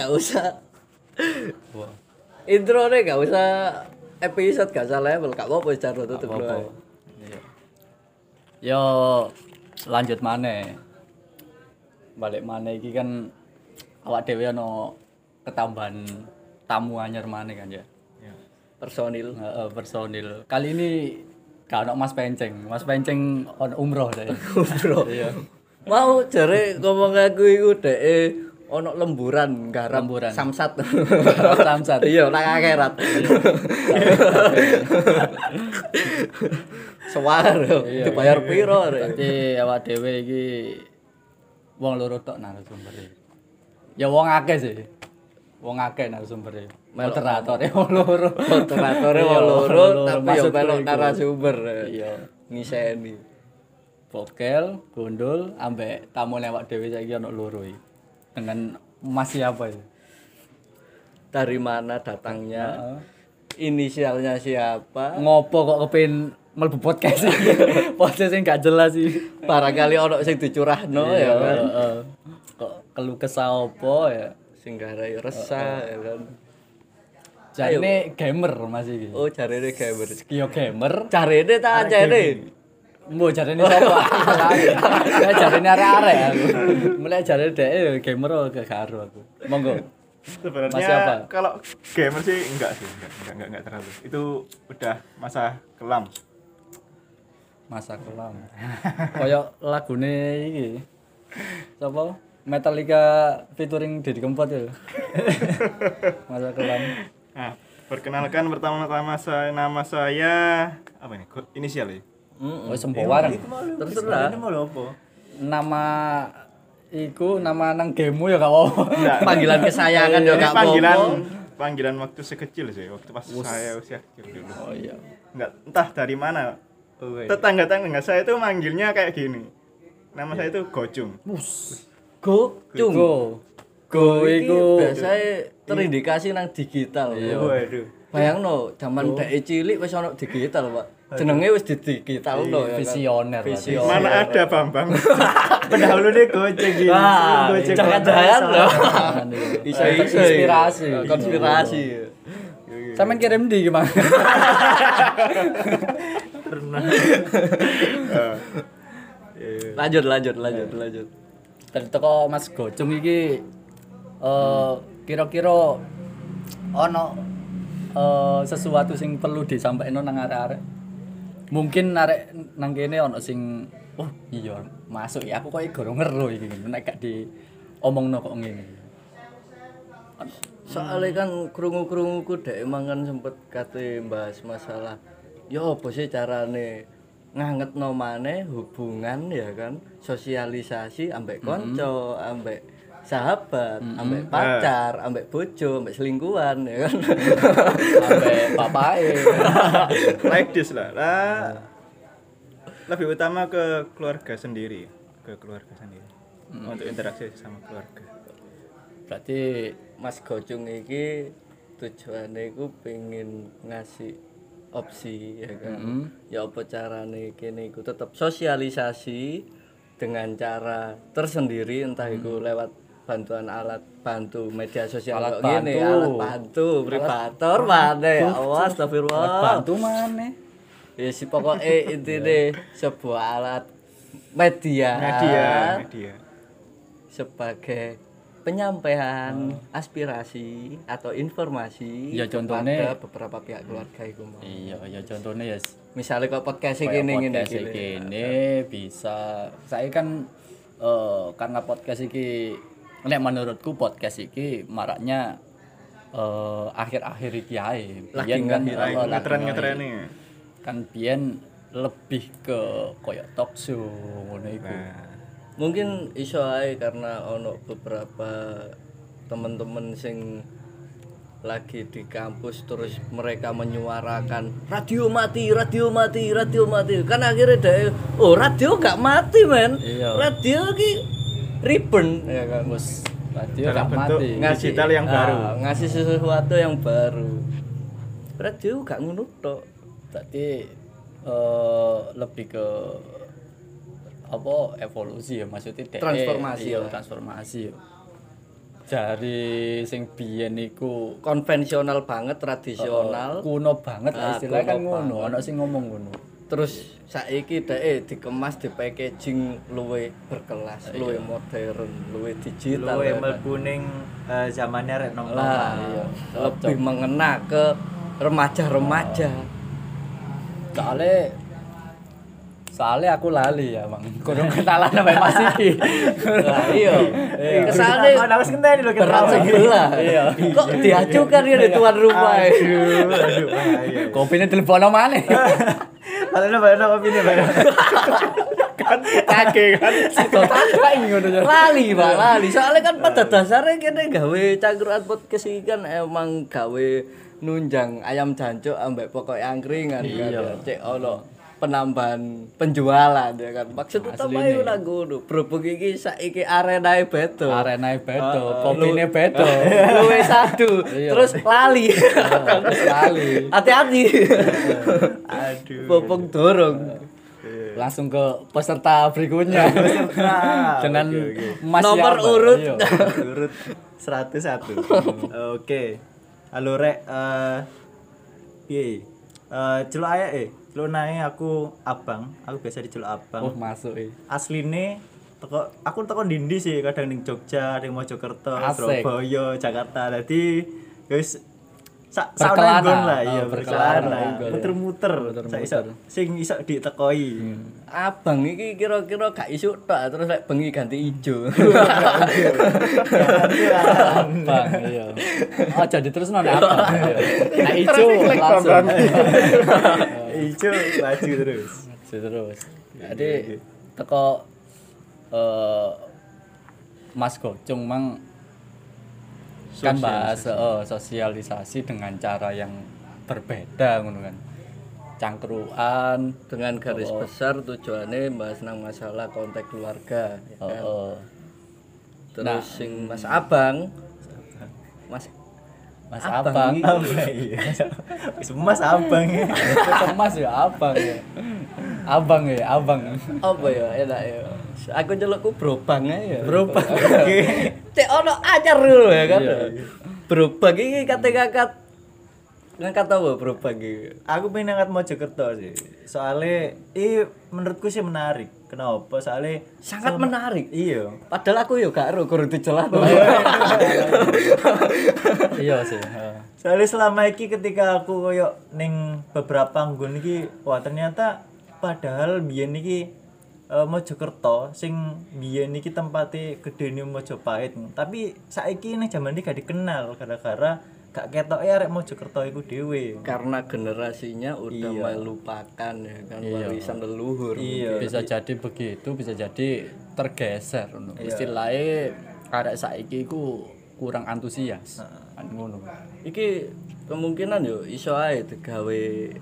gak usah. Wah. Introne gak usah episode gak usah level, gak apa-apa cara tutup Apa-apa. dulu. Iya. Yo lanjut maneh. Balik maneh iki kan awak dhewe ana ketambahan tamu anyar maneh kan ya. Personil. Heeh, personil. Kali ini gak ono Mas Penceng. Mas Penceng on umroh deh. Bro. Iya. Mau jare ngomong aku iku dhek ono lemburan garam Lemburan. samsat. Samsat. Iya, nang akhirat. Sewar Iya. dibayar piro rek. Tapi awak dhewe iki wong loro tok narasumbere. Ya wong akeh sih. Wong akeh narsasumbere. Moderatoré wong loro. Moderatoré Iya, wong loro tapi yo maksudku melok iku. narasumber. Iya. Ngiseni. Bokel, gondol, ambek tamu lewat dhewe saiki ana loro iki. Dengan Mas siapa ya? Dari mana datangnya? Inisialnya siapa? Ngopo kok kepengin mlebu podcast iki? Podcast sing gak jelas sih. Barangkali ono sing dicurahno ya kan. Heeh. Kok keluh kesah apa ya? Sing garai resah ya kan. Jarine gamer Mas iki. Oh, jarene gamer. Yo gamer. Jarene ta ajene. Mbok jarine sapa? Ya jarine arek-arek aku. Mulai jarine dhek gamer gak karo aku. Monggo. Sebenarnya Mas siapa? kalau gamer sih enggak terlalu. Itu udah masa kelam. Masa kelam. Kayak lagune iki. Sapa? Metallica featuring Deddy Kempot ya. Masa kelam. Nah, perkenalkan pertama-tama nama saya apa ini? Inisial ya? Oh sempowa. Terserah. Ini mau apa? Nama iku nama nang gamemu ya gak apa-apa. Panggilan kesayangan yo Ini gak panggilan apa-apa. panggilan waktu sekecil sih, waktu pas saya usia kecil dulu. Oh iya. Enggak entah dari mana. Tetangga-tetangga saya itu manggilnya kayak gini. Nama saya itu Gocung. Go, cung. Go iku biasanya terindikasi nang digital. Iya. Waduh. Bayangno, zaman dhek cilik wis ono digital, Pak. Jenenge wis digitalno ya kan. visioner. Visioner. Mana ada Bambang? Pendahulu nih Gojek gini. Wah, Gojek jangan-jangan loh. Bisa Iso, inspirasi. Konspirasi. Sampeyan kirim di gimana? Lanjut. Dari toko Mas Gocung iki kira-kira ono sesuatu sing perlu disampaikan nang arek-arek. Mungkin arek nang kene ono sing oh iya masuk ya aku kok gorong ngeru iki nek gak diomongno kok ngene. Soalnya kan krungu-krunguku dhek emang kan sempet kate bahas masalah ya apa sih carane ngangetno maneh hubungan ya kan, sosialisasi ambek kanca, ambek sahabat, ambek pacar, ambek bojo, ambek selingkuhan ya kan. Sampai bapake. like this lah. Lebih utama ke keluarga sendiri, untuk interaksi sama keluarga. Berarti Mas Gocung iki tujuane iku pengen ngasih opsi ya kan. Ya apa carane kene iku tetep sosialisasi dengan cara tersendiri entah iku lewat bantuan alat bantu media sosial Alat kok ngene, bantu. alat bantu privator mana ya Allah astagfirullah. bantu maneh. Ya si pokoknya intine sebuah alat media sebagai penyampaian aspirasi atau informasi Ya, contohnya- kepada beberapa pihak keluarga iku mau. Iya, ya contohnya ya Misalnya kok podcast kayak iki ngene podcast iki. ini bisa. Saya kan karena podcast iki nek menurutku podcast iki maraknya akhir-akhir iki ae. Lagi Biyen kan Ngetren nih. kan biyen lebih ke koyo talk show ngono iku. Mungkin iso ae karena ono beberapa teman-teman sing lagi di kampus terus mereka menyuarakan radio mati kan akhirnya deh radio gak mati men. Iya. Radio ki ribbon ya kan Bos, radio Dalam gak bentuk mati. digital yang baru. ngasih sesuatu yang baru. Radio gak ngono tok. Berarti lebih ke apa evolusi ya maksudnya Transformasi iya, lah. transformasi ya. Jari sing biyen iku konvensional banget, tradisional. kuno banget lah istilahnya kan kuno ngono, ana sing ngomong ngono. Terus saiki dhek dikemas di packaging luwih berkelas, luwih modern, luwih digital. Luwe ya kan? mlebu ning zamannya rek nom. Lah, iya. Lebih mengena ke remaja-remaja. Soalnya aku lali ya, Bang. Kurang kenalan sampai Mas iki. Lah iya. Kesane Ana wis ngenteni lho berat sebelah. Iya. Kok diajukan ya di tuan rumah. Aduh, bahaya. Kopine telepono maneh. Padahal bayar kopi nih bayar. Kan kage kan. Total ngono ya. Lali, Pak, lali. Soalnya kan pada dasarnya kene gawe cangkruan podcast iki kan emang gawe nunjang ayam jancuk ambek pokok angkringan kan. Cek ono penambahan penjualan ya kan. Maksud utama Asline. iku nang ngono. Berhubung iki saiki arenae beto. Arenae bedo, kopine bedo. Luwe satu. Terus lali. Terus lali. Hati-hati. Aduh. Popong dorong. Langsung ke peserta berikutnya. Dengan Mas Nomor siapa? urut. Iya. Urut 101. Oke. Halo rek piye? Celuk ae celuk nae aku abang. Aku biasa diceluk abang. Oh, masuk Asline aku teko ndi sih, kadang ning Jogja, ning Mojokerto, Asik. Surabaya, Jakarta. Dadi guys Berkelana. saudara lah iya Oh, berkelana, berkelana. muter-muter. Sing iso ditekoi. Abang iki kira-kira gak isu tok terus lek bengi ganti ijo. Bang, iya. Oh, jadi terus nek apa? Nah, ijo langsung. Ijo maju terus. Terus. Jadi teko Mas Gocung mang kan bahas sosialisasi dengan cara yang berbeda ngono kan. Cangkruan Dengan garis besar tujuannya bahas nang masalah konteks keluarga ya kan? Terus sing Mas Abang Mas Abang. Iya. Wis Mas abang ya. Mas ya abang ya. Abang ya, abang. apa ya enak ya. Aku celukku brobang ae ya. Berubah. Cek ono anyar dulu ya kan. Iya. Brobang iki kate-kakat ngangkat apa brobang iki? Aku pengen angkat Mojokerto sih. Soalnya menurutku sih menarik. Kenapa? Soalnya Sangat menarik. Iya. Padahal aku ya gak ero kudu dijelasno. Iya sih. Soalnya selama iki ketika aku koyo ning beberapa nggon iki, wah ternyata padahal biyen iki Mojokerto sing biyen iki tempate gedene Mojopahit. Tapi saiki ning jaman iki gak dikenal gara-gara gak ketoke arek Mojokerto iku dhewe. Karena generasinya udah melupakan ya kan warisan leluhur. Iya. Bisa jadi begitu, bisa jadi tergeser ngono. Istilahnya arek saiki iku kurang antusias. Kan ngono. Iki kemungkinan yo iso ae digawe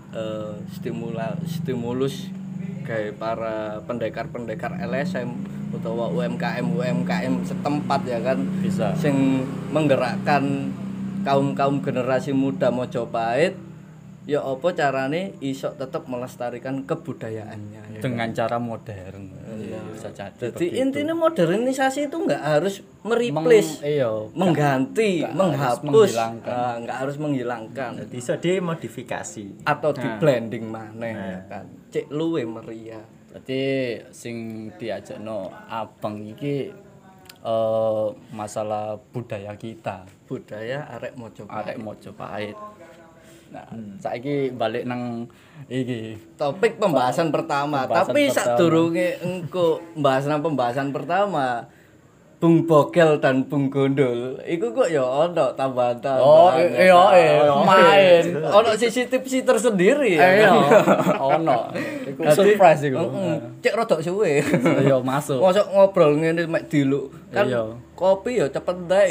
stimulus gawe para pendekar-pendekar LSM utawa UMKM setempat ya kan Bisa. sing menggerakkan kaum generasi muda Mojopahit ya apa carane iso tetep melestarikan kebudayaannya ya. Dengan cara modern. Bisa jadi. Jadi intinya modernisasi itu nggak harus mereplace, mengganti, menghapus, nggak harus menghilangkan, Jadi iso dimodifikasi. atau di blending maneh ya kan. Cek luwe meriah. Jadi sing diajakno abang iki masalah budaya kita, Budaya arek Mojopahit. arek Mojopahit. Nah, saiki balik nang iki. Topik pembahasan pertama, Pembahasan tapi pertama. sadurunge engko pembahasan pertama Bung Bogel dan Bung Gondol, iku kok ya ono tambahan-tambahan. Oh, iya, main. Ono sisi tipsi tersendiri ya. Iya, ono. Iku surprise iku. Cek rodok suwe. Iya, masuk. Mosok ngobrol ngene mek diluk. Kan Iya. kopi ya cepet entek.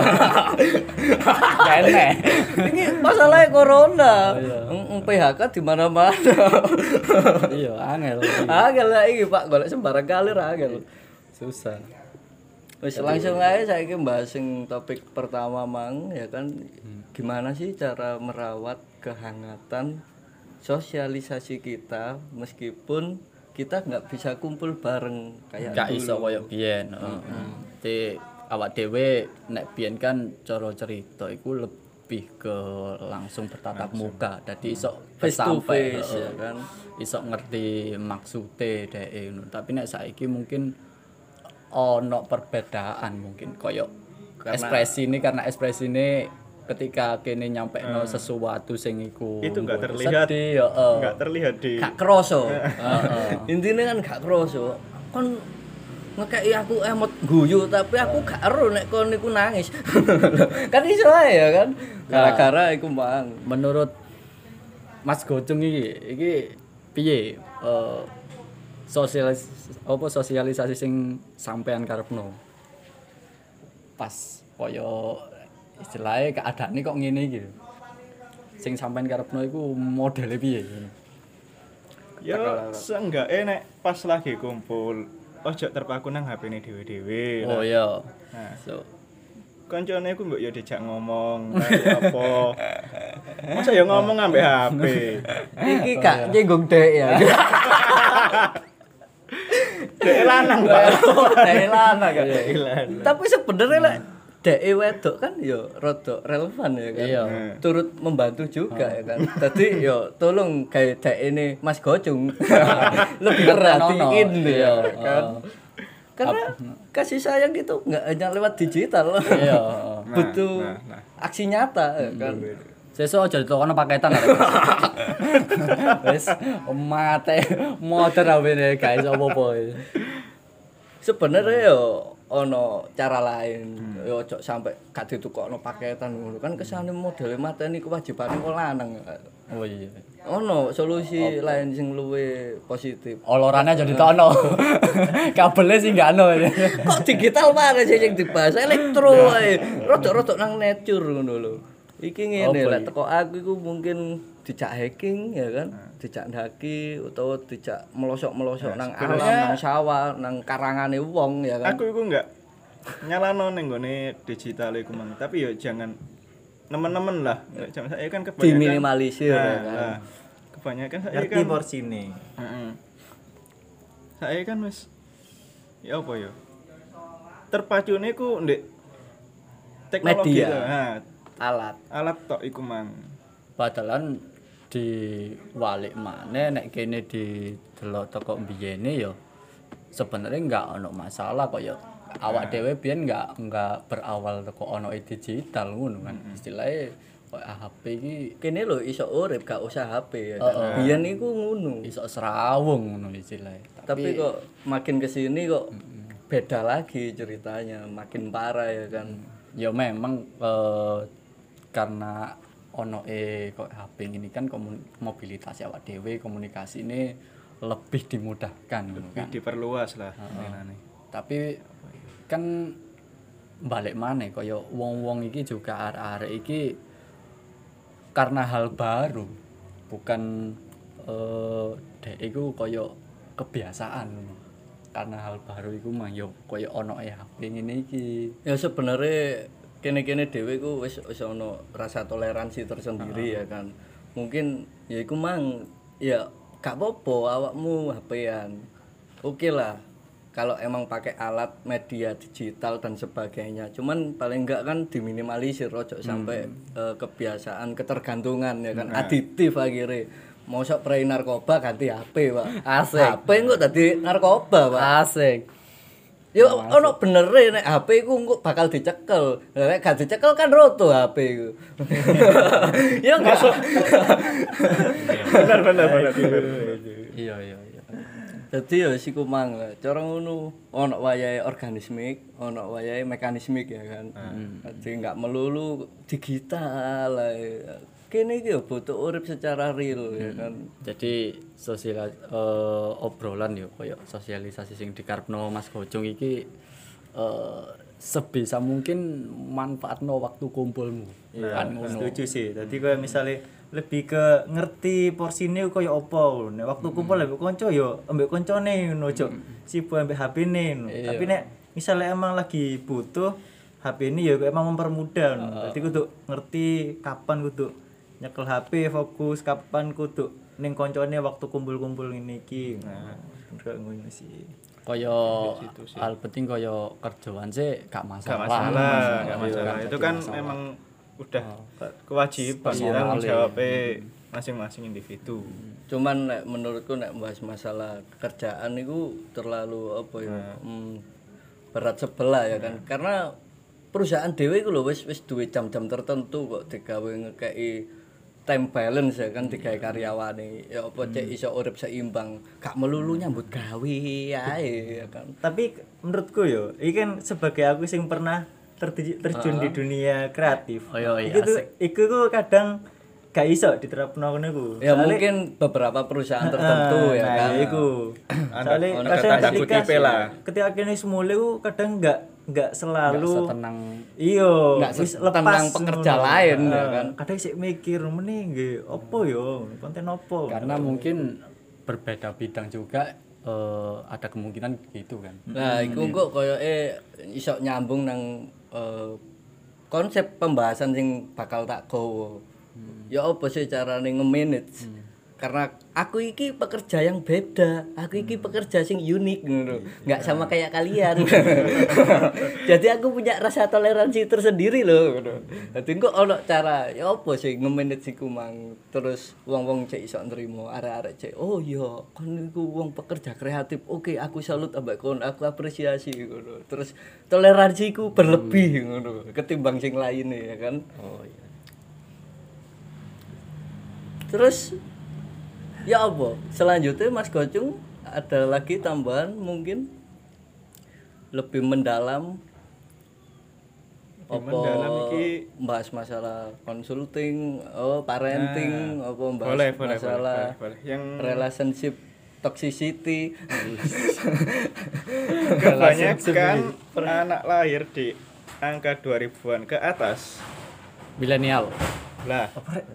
Kene. Ini masalahnya corona. Iya. PHK di mana-mana. Iya, angel. Angel lah iki Pak, golek sembarang kali ra angel. Susah. Wis langsung aja saiki bahas sing topik pertama Mang ya kan. Gimana sih cara merawat kehangatan sosialisasi kita meskipun kita nggak bisa kumpul bareng kayak Gak dulu. iso koyo biyen. Jadi awak dhewe nek biyen kan cara cerita iku lebih ke langsung bertatap muka. Dadi iso Face to sampai, face ya kan. Iso ngerti maksude dhek ngono. Tapi nek saiki mungkin ono perbedaan mungkin koyo karena ekspresi ini ketika kene nyampekno sesuatu sing iku Itu nggak terlihat. sedih, Nggak terlihat di Gak kroso. Intine kan gak kroso. Kon ngekeki aku emot guyu tapi aku gak ero nek kon niku nangis. Kan iso ae ya kan. Gara-gara iku mang. menurut Mas Gocung iki piye sosialisasi sing sampean karepno pas koyo istilahnya keadaane kok ngene iki sing sampean karepno iku modele piye ya seenggaknya nek pas lagi kumpul ojo terpaku nang HP-ne dhewe-dhewe. oh iya Nah, so koncone ku mbok ya dijak ngomong apa. Masa ya ngomong ambek HP. Iki gak nyinggung dek ya. Dek lanang, Pak. Dek lanang kan. Tapi sebenarnya lek dek wedok kan ya rada relevan ya kan. Iya. Turut membantu juga ya kan. Dadi ya tolong gawe dek ini Mas Gocung. Lebih perhatiin ya kan. Karena kasih sayang itu nggak hanya lewat digital. iya Butuh aksi nyata ya kan. sesuk aja ditokono paketan wis mate motor awene guys apa-apa Sebenarnya yo ono cara lain. Yo ojo sampai gak ditukokno paketan ngono. Kan kesane modele mateni kewajibane kok lanang. oh iya Ono solusi lain sing luwih positif. olorane aja ditokono kabelnya sih gak ono Kok digital banget sih sing dibahas elektro ae. Rodok-rodok nang nature ngono lho. Iki ngene lek teko aku iku mungkin dijak hacking ya kan, dijak ndaki utawa dijak melosok-melosok nang alam, nang sawah, nang karangane wong ya kan. Aku iku enggak nyalano ning gone digital iku mang, tapi ya jangan nemen-nemen lah. Jangan saya kan kebanyakan Diminimalisir ya kan. Nah, kebanyakan saya Ngerti kan porsine. Heeh. Saya kan wis ya apa ya? Terpacune ku ndek teknologi Media. to. Nah, Alat tok iku mang. padahal di walik maneh nek kene didelok teko mbiyene ya sebenarnya enggak ono masalah kok ya awak dhewe biyen enggak berawal teko ono digital ngono kan istilahnya kok HP iki kene lho iso urip gak usah HP ya kan. Biyen iku ngono. iso serawung ngono istilahnya Tapi kok makin kesini kok beda lagi ceritanya, makin parah ya kan. ya memang karena ono kok HP ini kan mobilitas awak dhewe komunikasi ini lebih dimudahkan ngono kan. Diperluas lah menane. Tapi kan balik maneh kaya wong-wong iki juga arek-arek iki karena hal baru bukan dek iku kaya kebiasaan ngono. Karena hal baru iku mah yo kaya ono HP ngene iki. Ya sebenarnya kene-kene dhewe ku wis ono rasa toleransi tersendiri ya kan. Mungkin ya iku mang ya gak apa-apa awakmu HP-an. Oke lah. Kalau emang pakai alat media digital dan sebagainya. Cuman paling enggak kan diminimalisir ojo sampai kebiasaan ketergantungan ya kan. Aditif akhirnya. Mosok prei narkoba ganti HP, Pak. Asik. HP kok dadi narkoba, Pak. Asik. Ya ono bener nek HP ku engko bakal dicekel. Nek gak dicekel kan roto HP ku. Ya enggak. Benar. Iya. Dadi ya siku mang cara ngono ono wayahe organismik, ono wayahe mekanismik ya kan. Dadi enggak melulu digital. Kene iki ya butuh urip secara real ya kan. Jadi obrolan yo koyo sosialisasi sing dikarepno Mas Gocung iki sebisa mungkin manfaatno waktu kumpulmu. Kan setuju sih. Dadi koyo misale lebih ke ngerti porsine koyo apa. Nek waktu kumpul ambek kanca yo ambek kancane ngono ojo sibuk ambek HP-ne. Tapi nek misale emang lagi butuh HP ini ya emang mempermudah. Dadi kudu ngerti kapan kudu nyekel HP fokus, kapan kudu ning koncone waktu kumpul-kumpul ngene iki. Nah, kayak ngono sih. Kaya hal penting kaya kerjaan sih gak masalah. Gak masalah. Itu kan memang udah kewajiban tanggung jawab masing-masing individu. Cuman nek menurutku nek bahas masalah kerjaan itu terlalu apa ya? Berat sebelah ya kan. Karena perusahaan dhewe iku lho wis duwe jam-jam tertentu kok digawe ngekeki time balance ya kan digawe karyawane. Ya apa cek iso urip seimbang, gak melulu nyambut gawe ae ya kan. Tapi menurutku yo, iki kan sebagai aku sing pernah terjun di dunia kreatif. Oh iya, Iku tuh kadang gak iso diterapno ngono iku. Ya mungkin beberapa perusahaan tertentu ya kan. Iku. Soale Ada kadang tanda kutip lah. ketika kene semule ku kadang gak selalu setenang iya Nggak wis tentang pekerja lain ya kan. Kadang sik mikir meneh nggih opo yo, konten opo. karena mungkin berbeda bidang juga ada kemungkinan gitu kan. Nah, iku kok koyoke iso nyambung nang konsep pembahasan sing bakal tak gowo. Ya apa sih carane nge-manage? Karena aku iki pekerja yang beda, aku iki pekerja sing unik ngono. Enggak sama kayak kalian. Jadi aku punya rasa toleransi tersendiri loh ngono. Dadi kok ono cara ya apa sih nge-manage iku mang. Terus wong-wong cek iso nrimo, arek-arek cek, "Oh iya, kon iku wong pekerja kreatif. Oke, aku salut ambek kon, aku apresiasi ngono." Terus toleransiku berlebih ngono ketimbang sing lainnya ya kan. Oh iya. Terus ya apa? Selanjutnya Mas Gocung ada lagi tambahan mungkin lebih mendalam bahas masalah consulting, parenting, apa bahas masalah boleh. Yang relationship toxicity. kebanyakan anak lahir di angka 2000-an ke atas. Milenial. Lah,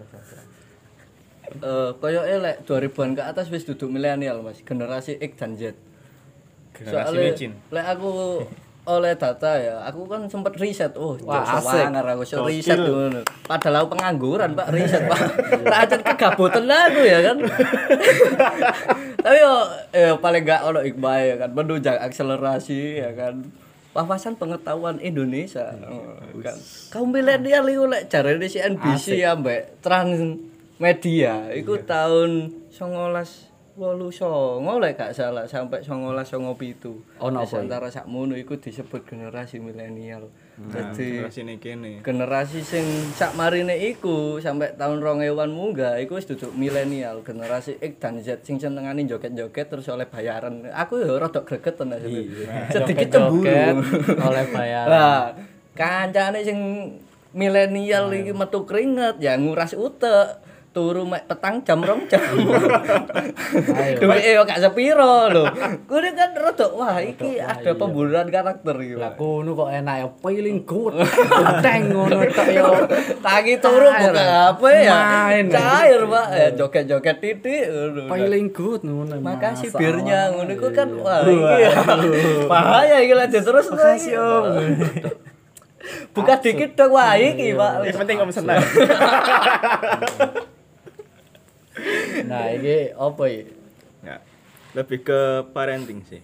Koyoke lek 2000-an ke atas wis duduk milenial Mas, generasi X dan Z. generasi Soalnya micin. lek aku oleh data ya, aku kan sempat riset. Oh, Wah, asik. Aku riset ngono. Padahal aku pengangguran, Pak, riset, Pak. Tak aja kegaboten aku ya kan. Tapi yo paling gak ono hikmah ya kan, menunjang akselerasi ya kan. Wawasan pengetahuan Indonesia. Kan. Kaum milenial iku lek jarene si NBC ambek Transmedia iku tahun 1989 lek gak salah sampai 1997. Ono apa? Antara sakmono iku disebut generasi milenial. Jadi Generasi ini kene. generasi sing sakmarine iku sampai tahun 2000-an munggah iku wis duduk milenial, generasi X dan Z sing senengane joget-joget terus oleh bayaran. Aku ya rada gregeten aja. Sedikit cemburu oleh bayaran. Lah, kancane sing milenial iki metu keringet ya nguras utek. Turu mek petang jam 2 jam. Duweke yo gak sepiro lho. Kuwi kan rada wah iki ada pembunuhan karakter iki. Lah kono kok enak ya feeling good. Teng ngono tok yo. Tangi turu buka HP ya. Main. Cair, Pak. Ya joget-joget titik ngono. Feeling good ngono. Makasih birnya ngono iku kan wah iki ya. Bahaya iki lanjut terus. Makasih Om. Buka dikit dong wah iki, Pak. Yang penting Om senang. Nah, ini apa ya? Ya, lebih ke parenting sih.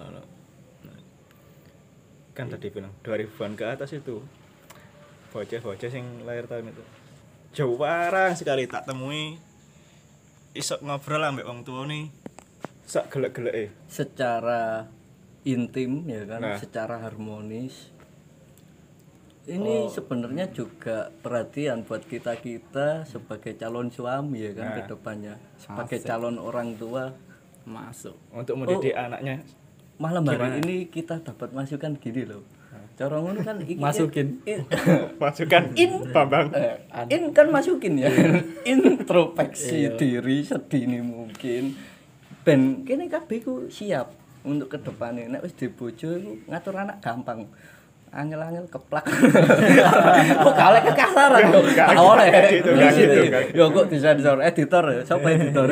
Kan tadi bilang 2000-an ke atas itu bocah-bocah sing lahir tahun itu jarang sekali tak temui iso ngobrol ambek wong tuane sak gelek-geleke. Secara intim ya kan, Nah. secara harmonis. Ini sebenarnya juga perhatian buat kita sebagai calon suami ya kan ke depannya, sebagai calon orang tua Masuk. Untuk mendidik anaknya. malam hari ini kita dapat masukan gini loh. Cara ngono kan iki Masukin. Masukkan Bambang. in kan masukin ya. Introspeksi diri sedini mungkin. Ben kene kabeh ku siap untuk ke depannya. Nek wis dibojo iku ngatur anak gampang. Angel-angel keplak. Kok gak oleh kekasaran kok. Gak oleh. Gak gitu. Yo kok disensor editor ya. Siapa editor?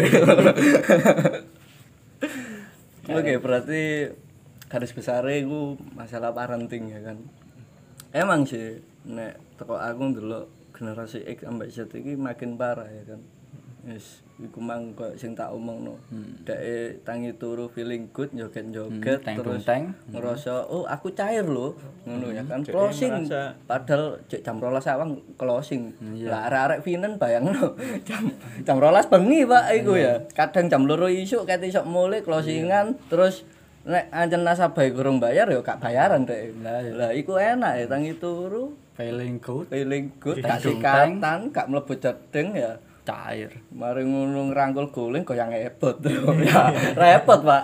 Oke, berarti garis besarnya itu masalah parenting ya kan. Emang sih nek teko aku ndelok generasi X sampai Z iki makin parah ya kan. Wis iku mang koyo sing tak omongno. Dek tangi turu feeling good joget-joget terus ngerasa oh aku cair lho ngono ya kan closing padahal jam 12 awang closing. Lah arek-arek Vinen bayangno jam 12 bengi Pak iku ya. Kadang jam 2 isuk ket isuk mulai closingan terus nek ancen nasabah kurang bayar ya gak bayaran dek. Lah iku enak ya tangi turu feeling good gak sikatan gak mlebu jedeng ya cair. Mari ngono ngrangkul guling goyang ebot. Ya repot, Pak.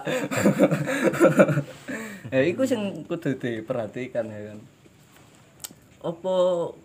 Ya iku sing kudu diperhatikan ya kan. Apa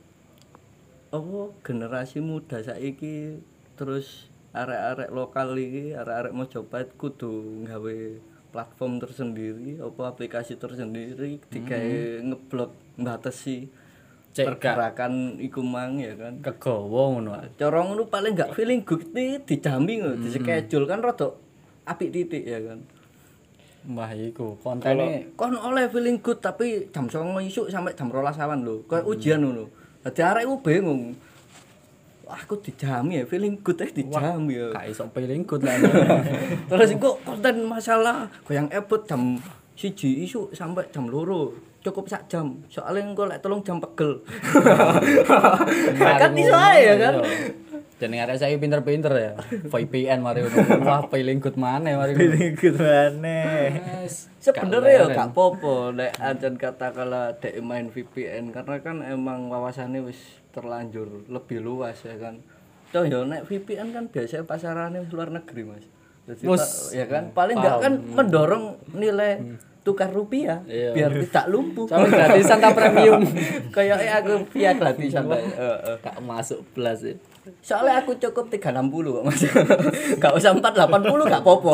generasi muda saiki terus arek-arek lokal iki, arek-arek Mojopahit kudu nggawe platform tersendiri, apa aplikasi tersendiri digawe ngeblok mbatesi pergerakan iku mang ya kan kegawa ngono. Cara ngono paling gak feeling good iki dijami ngono, di-schedule kan rada apik titik ya kan. Wah iku kontene kon oleh feeling good tapi jam 09.00 isuk sampai jam 12 awan lho. Kayak ujian ngono. Dadi arek ku bingung. Wah, aku dijami ya feeling good dijami ya. gak iso feeling good lah. Terus iku konten masalah goyang ebot jam 1 isuk sampai jam 2. Cukup sak jam. Soalnya engko lek 3 jam pegel. Kan iso ae ya kan. Jeneng arek saiki pinter-pinter ya. VPN mari ngono. Wah, feeling good maneh mari. Feeling good maneh. Sebenarnya ya gak apa-apa nek ancen katakanlah dek main VPN karena kan emang wawasannya wis terlanjur lebih luas ya kan. Toh ya nek VPN kan biasanya pasarannya luar negeri Mas. Jadi ya kan paling enggak kan mendorong nilai tukar rupiah biar tidak lumpuh. Soalnya gratisan ta premium. Kayaknya aku via gratisan Pak. Gak masuk belas ya. Soalnya aku cukup 360 kok Mas. Gak usah 480 gak apa-apa.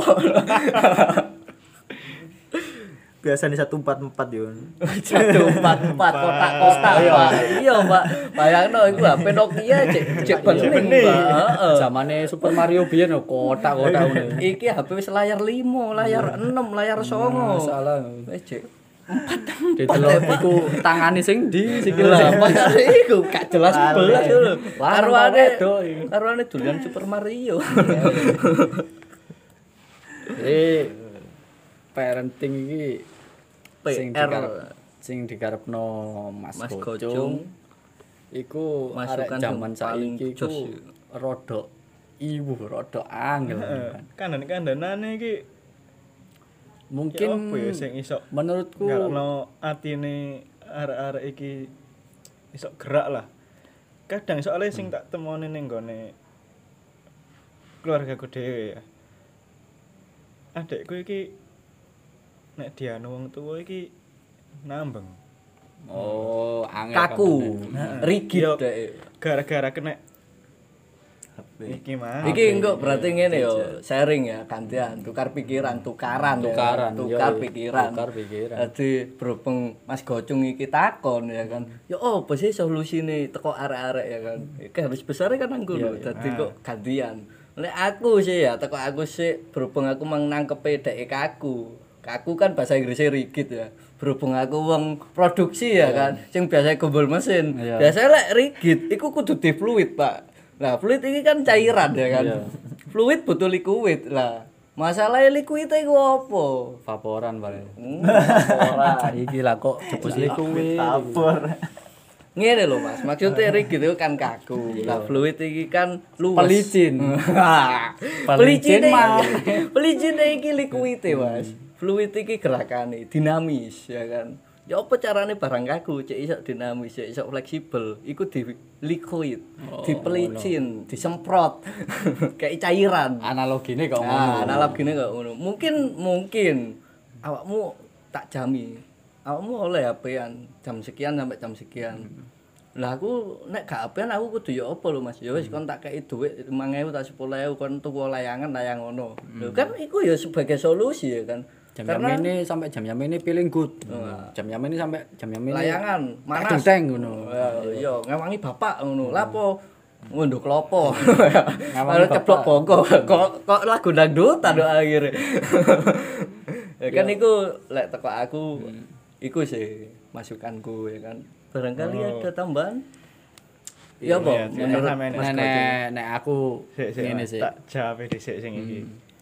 Biasanya 144 Yun. 144 kotak-kotak Pak. Iya Pak. Bayangno iku HP Nokia cek bening Pak. Heeh. Zamane Super Mario biyen kotak-kotak ngono. Iki HP wis layar 5, layar 6, layar 9. Salah. Wis cek Didelok iku tangane sing ndi sikil lah. Iku gak jelas belas lho. Karuane karuane dolan Super Mario. Parenting iki sing digarepno Mas Gocung iku masukan jaman paling saiki iku rada rada angel. Kandhan-kandhanane iki mungkin apa ya sing iso menurutku ngarepno atine arek-arek iki iso gerak lah. Kadang soalnya sing tak temoni ning gone keluargaku dhewe ya. Adekku iki nek dianu wong tuwa iki nambeng. angel Kaku, rigid Yo, dek. gara-gara kena iki mah. Iki engko berarti ngene yo, sharing ya, gantian, tukar pikiran, tukaran ya. Tukar pikiran. Dadi berhubung Mas Gocung iki takon ya kan. Ya opo sih solusine teko arek-arek ya kan. Iki harus besar kan anggo lho. Dadi kok gantian. Nek aku sih ya, teko aku sih berhubung aku mang nangkepe dek kaku. Kaku kan bahasa Inggrisnya rigid ya. Berhubung aku wong produksi ya kan, sing biasa gombol mesin. Biasanya lek rigid iku kudu di fluid, Pak. Nah, fluid ini kan cairan ya kan. Fluid butuh liquid lah. Masalahnya liquid itu apa? Vaporan bare. Ora. Iki lah kok jebus liquid. Vapor. Ngene lho Mas, maksudnya rigid itu kan kaku. Lah fluid iki kan luwes. Pelicin. Pelicin Pelicin iki liquid Mas. Fluid iki gerakane dinamis ya kan. Ya apa carane barang kaku cek iso dinamis, cek iso fleksibel, iku di liquid, dipelicin, disemprot kayak cairan. Analogine kok ngono. Analogine kok ngono. Mungkin awakmu tak jami. Awakmu oleh HP-an jam sekian sampai jam sekian. Lah aku nek gak HP-an aku kudu ya apa lho Mas? Ya wis kon tak kei dhuwit 5.000 tak 10.000 kon tuku layangan layang ngono. Lho kan iku ya sebagai solusi ya kan. Jam-jam ini sampai jam-jam ini feeling good. Jam-jam ini sampai jam-jam ini layangan manas. Teng ngono. Iya, ngewangi bapak ngono. Lah apa ngunduh klopo. Ngawangi ceplok bongko. Kok lagu dangdutan akhirnya. Ya kan iku lek teko aku iku sih masukanku ya kan. Barangkali ada tambahan. Ya apa? Iya, Menurut sampean. Mas Gojek? Nek aku ngene sih. Tak jawab dhisik sing iki.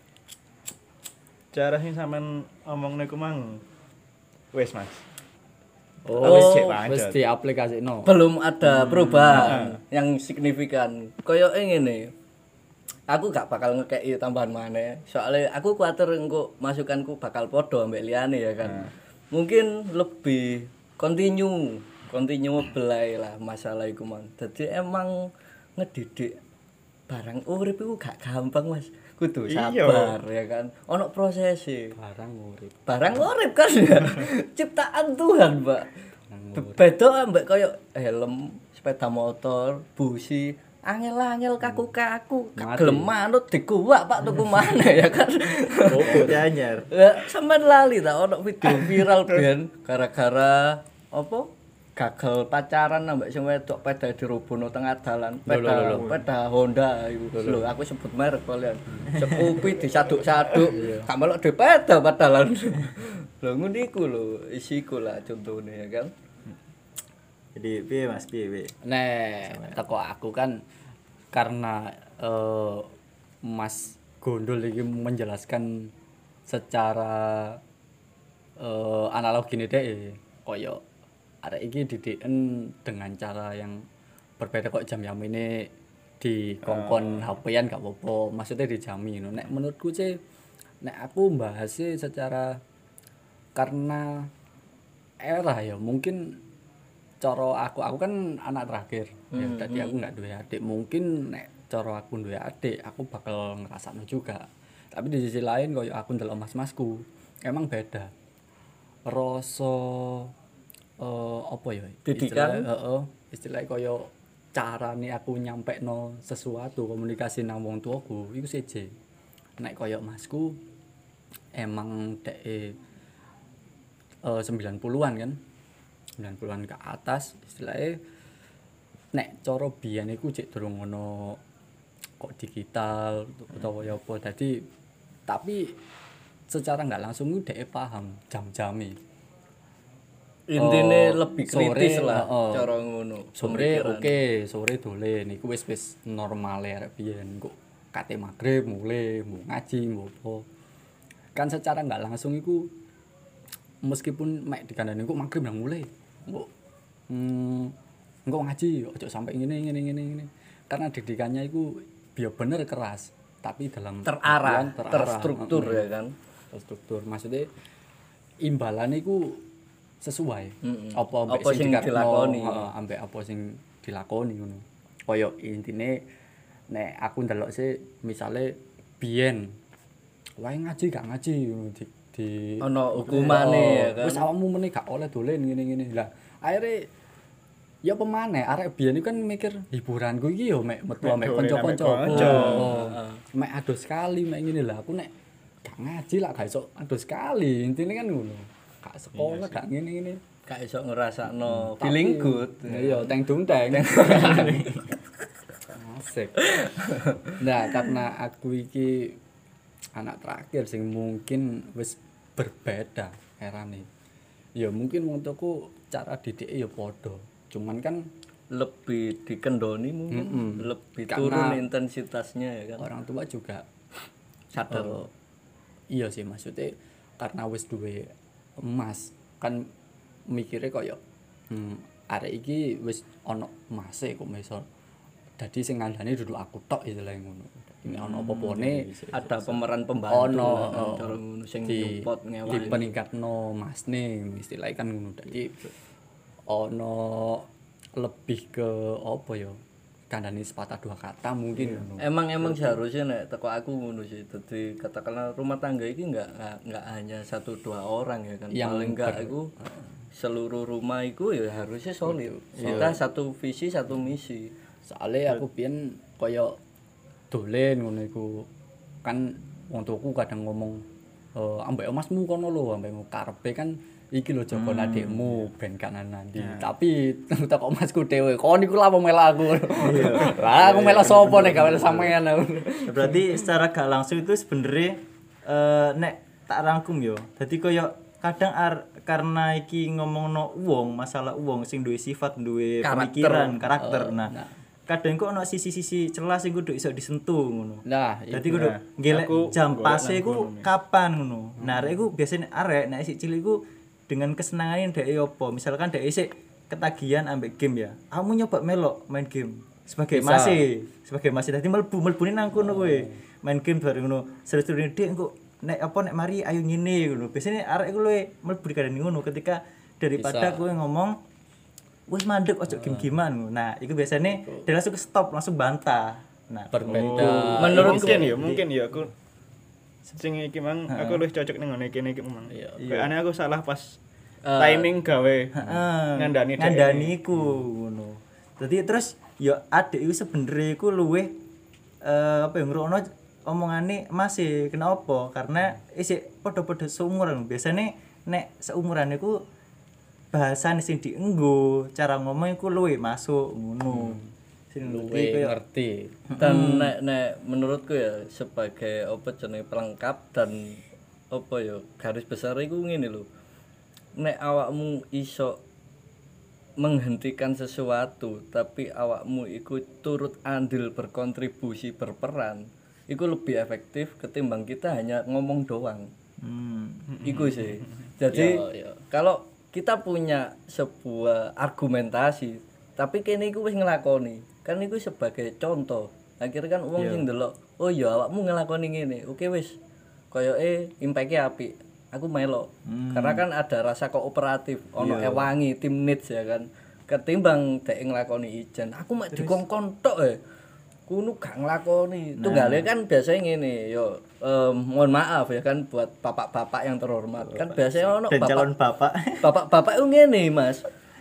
Cara sing sampean omongne ku mang wis Mas. Oh, Wis cek wis pancet. diaplikasikno. Belum ada perubahan yang signifikan. Koyoke ngene. Aku gak bakal ngekeki tambahan maneh. Soalnya aku kuatir engko masukanku bakal podo ambek liyane ya kan. Mungkin lebih continuable ae lah masalah iku mang. Dadi emang ngedidik barang urip iku gak gampang Mas. Kudu Iya. sabar ya kan. Ono prosese. Barang urip. Barang urip kan ya. Ciptaan Tuhan, Pak. Beda ambek koyo helm, sepeda motor, busi, angel-angel kaku-kaku, Mati. gelem manut dikuwak Pak tuku maneh ya kan. Opo anyar. Ya sampean lali ta ono video viral ben gara-gara apa? Gagal pacaran ambek sing wedok peda dirubuhno tengah dalan. Peda Honda iku. Lho, aku sebut merek kalian. Scoopy disaduk-saduk, gak melok di peda padahal. Lho ngono iku lho, isiku lah contone ya kan. Jadi piye Mas, piye? Teko aku kan karena Mas Gondol iki menjelaskan secara analog gini deh koyo arek iki didiken dengan cara yang berbeda kok jam ini di kongkon HP-an gak apa-apa, maksudnya dijami no. Nek menurutku sih nek aku bahasnya secara karena era ya mungkin cara aku kan anak terakhir ya tadi aku nggak duwe adik, mungkin nek cara aku duwe adik aku bakal ngerasakno juga, tapi di sisi lain koyo aku ndelok mas-masku emang beda rasa apa ya Didikan? istilahnya koyo carane aku nyampekno sesuatu komunikasi nang wong tuaku iku seje. Nek koyo masku emang dek 90-an kan 90-an ke atas istilahnya nek cara biyen iku cek durung ngono kok digital utawa ya apa dadi tapi secara nggak langsung dhek paham jam-jame Intine lebih kritis sore, lah heeh. cara ngono. sore Pemikiran. oke sore dolen iku wis normal arek biyen kok kate magrib mulai mau ngaji mau apa kan secara nggak langsung iku meskipun mek dikandani kok magrib nang mulai kok engko ngaji ojo sampai ngene karena didikannya iku biar bener keras tapi dalam terarah, artian terstruktur ya kan. terstruktur maksudnya imbalannya iku sesuai apa Apa sing dilakoni. ambek apa sing dilakoni ngono kaya intine nek aku ndelok sih misale biyen wae ngaji gak ngaji ngono di Ono hukumane ya kan. wis awakmu meneh gak oleh dolen ngene-ngene lah akhirnya ya pemane arek biyen kan mikir hiburanku iki yo mek metu ambek dolen kanca-kancaku ambek kanca. mek ado sekali mek ngene lah aku nek gak ngaji lah gak iso ado sekali intine kan ngono gak sekolah gak ngene-ngene Gak iso ngrasakno feeling good. iya teng dung teng asik nah karena aku iki anak terakhir sing mungkin wis berbeda erane ya mungkin wong tuaku cara didik ya padha cuman kan Lebih dikendoni mungkin, lebih Karena turun intensitasnya ya kan. orang tua juga Sadar. iya sih maksudnya karena wis duwe emas kan mikirnya koyo arek iki wis ana emase kok iso dadi sing ngandani duduk aku tok istilahnya ngono ini ana apa-apane Ada pemeran pembantu ono lah kan, cara ngono sing di nyupport ngewani. peningkatno masne istilahnya kan ngono dadi ono lebih ke apa ya kandani sepatah dua kata mungkin ngono Emang seharusnya nek teko aku ngono sih. Dadi katakanlah rumah tangga iki enggak hanya 1-2 orang ya kan. Yang Paling enggak iku seluruh rumah iku ya harusnya solid. Kita satu visi, satu misi. soalnya aku biyen kaya dolen ngono iku kan wong tuaku kadang ngomong ambek masmu kono lho ambek karepe kan iki lho jaga adikmu ben kanan nanti tapi kok masku dhewe kon iku lha melak aku lah aku melak sapa nek gawe sampean Berarti secara gak langsung itu sebenarnya nek tak rangkum yo. Dadi koyo kadang karena iki ngomongno wong, masalah wong sing duwe sifat, duwe Karakter. pemikiran, karakter. Nah, kadang kok ono sisi-sisi celah sing kudu iso disentuh ngono. Nah, Dadi kudu Nah, ngelek aku jam golek pase nang iku kono, kapan ngono. Nah, arek iku biasane arek nek isih cilik iku dengan kesenangan dhek opo. Misalkan dhek isih ketagihan ambek game ya. Kamu nyoba melok main game sebagai masih dadi mlebune nang kono kowe. Main game bareng ngono. Seru-serune dik engko nek mari ayo ngene ngono. Biasane arek iku luwe mlebu kadang ngono ketika daripada kowe ngomong wis mandek ojo game-gamean ngono. Nah, iku biasane dia langsung ke stop, langsung bantah. Nah, berbeda. Menurutku mungkin ya aku sing iki mang aku luwih cocok ning ngene iki mang. Kayakane aku salah pas timing gawe ngandani iku ngono. Dadi terus ya adik iku sebenere iku luwih apa ya ngrungokno omongane masih kenapa? Karena isih padha-padha seumuran. Biasane nek seumuran iku bahasan sing dienggo, cara ngomong iku luwih masuk ngono. Sing Luwe ngerti. dan nek menurutku ya sebagai apa jenenge pelengkap dan apa ya garis besar iku ngene lho. Nek awakmu iso menghentikan sesuatu tapi awakmu iku turut andil berkontribusi berperan iku lebih efektif ketimbang kita hanya ngomong doang. Iku sih. Jadi kalau kita punya sebuah argumentasi tapi kene iku wis nglakoni kan iku sebagai contoh akhirnya kan wong sing ndelok oh ya awakmu nglakoni ngene oke wis koyoke impake apik aku melok karena kan ada rasa kooperatif ono ewangi tim needs ya kan ketimbang dek nglakoni ijen aku mek dikongkon tok kuno gak nglakoni tunggale kan biasanya ngene yo mohon maaf ya kan buat bapak-bapak yang terhormat kan biasanya ono dan calon bapak. bapak-bapak itu ngene Mas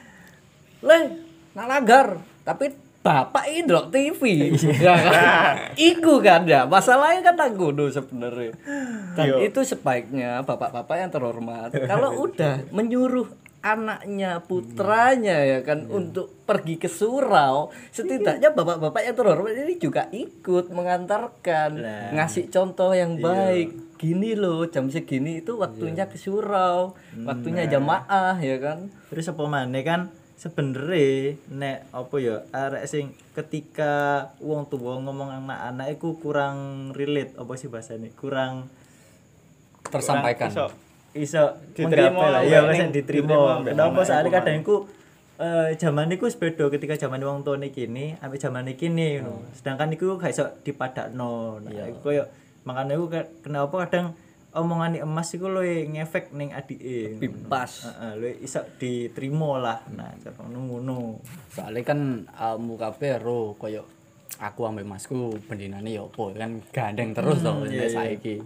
le nak langgar tapi bapak ini ndelok TV ya kan iku kan ya masalahnya kan nang ngono sebenarnya dan itu sebaiknya bapak-bapak yang terhormat kalau udah menyuruh anaknya putranya ya kan untuk pergi ke surau setidaknya bapak-bapak yang terhormat ini juga ikut mengantarkan ngasih contoh yang baik gini loh jam segini itu waktunya ke surau waktunya jamaah ya kan Terus apa maneh kan sebenere nek apa ya arek sing ketika wong tuwa ngomong anak-anak iku kurang relate apa sih bahasane kurang tersampaikan. iso Diterima menggapai lah lah, ya ning wis diterima diterima. ambek Kenapa anak soalnya iku kadang iku zaman iku wis beda ketika zaman wong tuane kene ambek zaman kene ngono. Sedangkan iku gak iso dipadakno. Nah, iku koyo makane iku kenapa kadang omongane emas iku luwih ngefek ning adike. Bebas. Heeh, luwih iso diterima lah. Nah, cara ngono. Soalnya kan almu kabeh ro koyo aku ambek masku bendinane ya apa kan gandeng terus to saiki.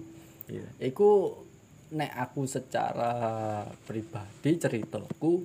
Iku nek aku secara pribadi ceritaku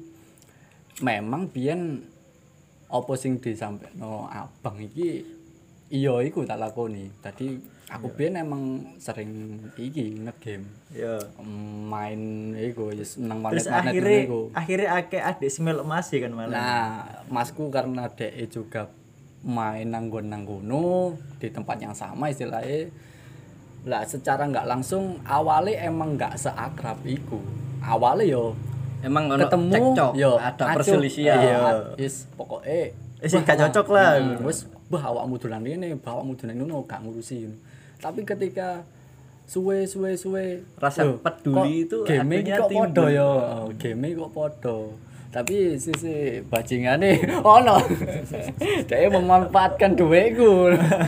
memang biyen apa sing disampaikan abang iki iya iku tak lakoni. Dadi aku biyen emang sering iki nge-game. Ya. Main iku ya seneng Terus manet-manet iku. akhirnya akeh adik semelok Mas kan malah. Nah, masku karena dhek juga main nang kono di tempat yang sama istilahnya. Lah secara nggak langsung awalnya emang nggak seakrab iku. Awalnya yo emang ono ketemu cekcok yo ada acuh. perselisihan Iya, wis pokoke Sing gak cocok lah. wis bah awakmu dolan ngene, bah awakmu dolan ngono gak ngurusi. Tapi ketika suwe Rasa peduli itu game akhirnya kok timbul. podo yo, game kok podo. Tapi sisi bajingane ono. Dia memanfaatkan duitku.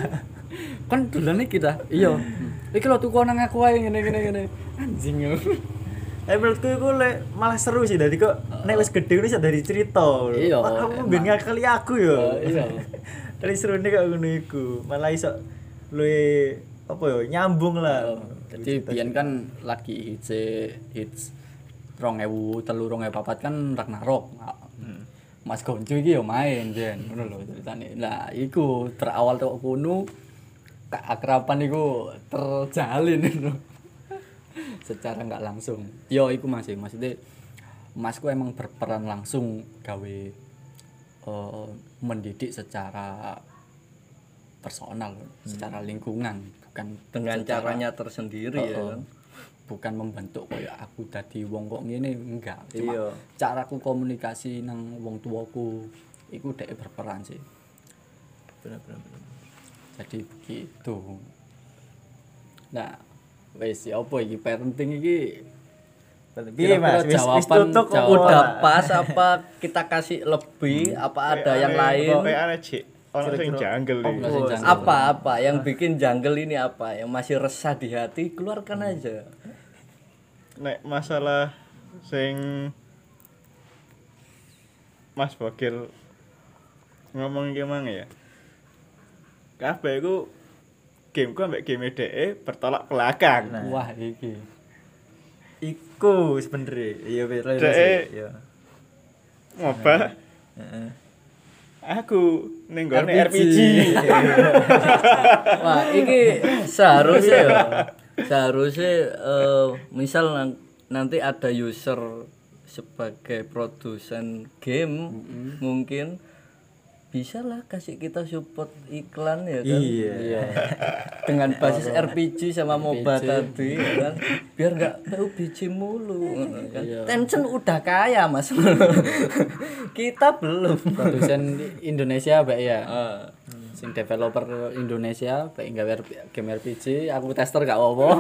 Kan dolane kita. Iya. Iki lho tuku nang aku ae ngene. Anjing yo. Menurutku iku malah seru sih dadi kok nek wis gedhe wis dari cerita. Iya, Wah, kamu ben ngakali aku ya. Iya. Dari serune kok ngono iku. Malah iso luwe apa ya nyambung lah. Jadi biyen kan lagi hits 2003-2004 kan Ragnarok. Mas Gonjo iki yo main biyen ngono lho ceritane. Lah iku berawal tok kono keakraban iku terjalin ngono. Secara nggak langsung. Yo iku maksudnya masku emang berperan langsung gawe mendidik secara personal, secara lingkungan, bukan dengan secara- caranya tersendiri ya kan. bukan membentuk kayak aku dadi wong kok ngene enggak. Cuma Iya. caraku komunikasi nang wong tuaku iku dhek berperan sih. bener. Jadi begitu. Nah, wis ya apa iki parenting iki Piye Mas? Wis jawaban tutuk kok Udah pas apa kita kasih lebih apa ada yang lain? Kayak ana Cik. Ono sing janggal iki. Ono sing janggal. Apa yang bikin janggal ini apa? Yang masih resah di hati keluarkan aja. Nek masalah sing Mas Bokil ngomong gimana ya? Kabeh iku gameku ambek game DE bertolak belakang. Nah. wah iki. Iku sebenere. Iya bener Dek. iya. Ngoba Heeh. aku ning gone RPG. RPG. Wah, ini seharusnya ya. Seharusnya misal nanti ada user sebagai produsen game mungkin bisa lah kasih kita support iklan ya kan. Iya. Dengan basis RPG sama MOBA tadi ya kan. Biar enggak PUBG mulu kan. Tencent udah kaya Mas. Kita belum. Produsen Indonesia bae ya. Sing developer Indonesia bae gawe game RPG, aku tester gak apa-apa.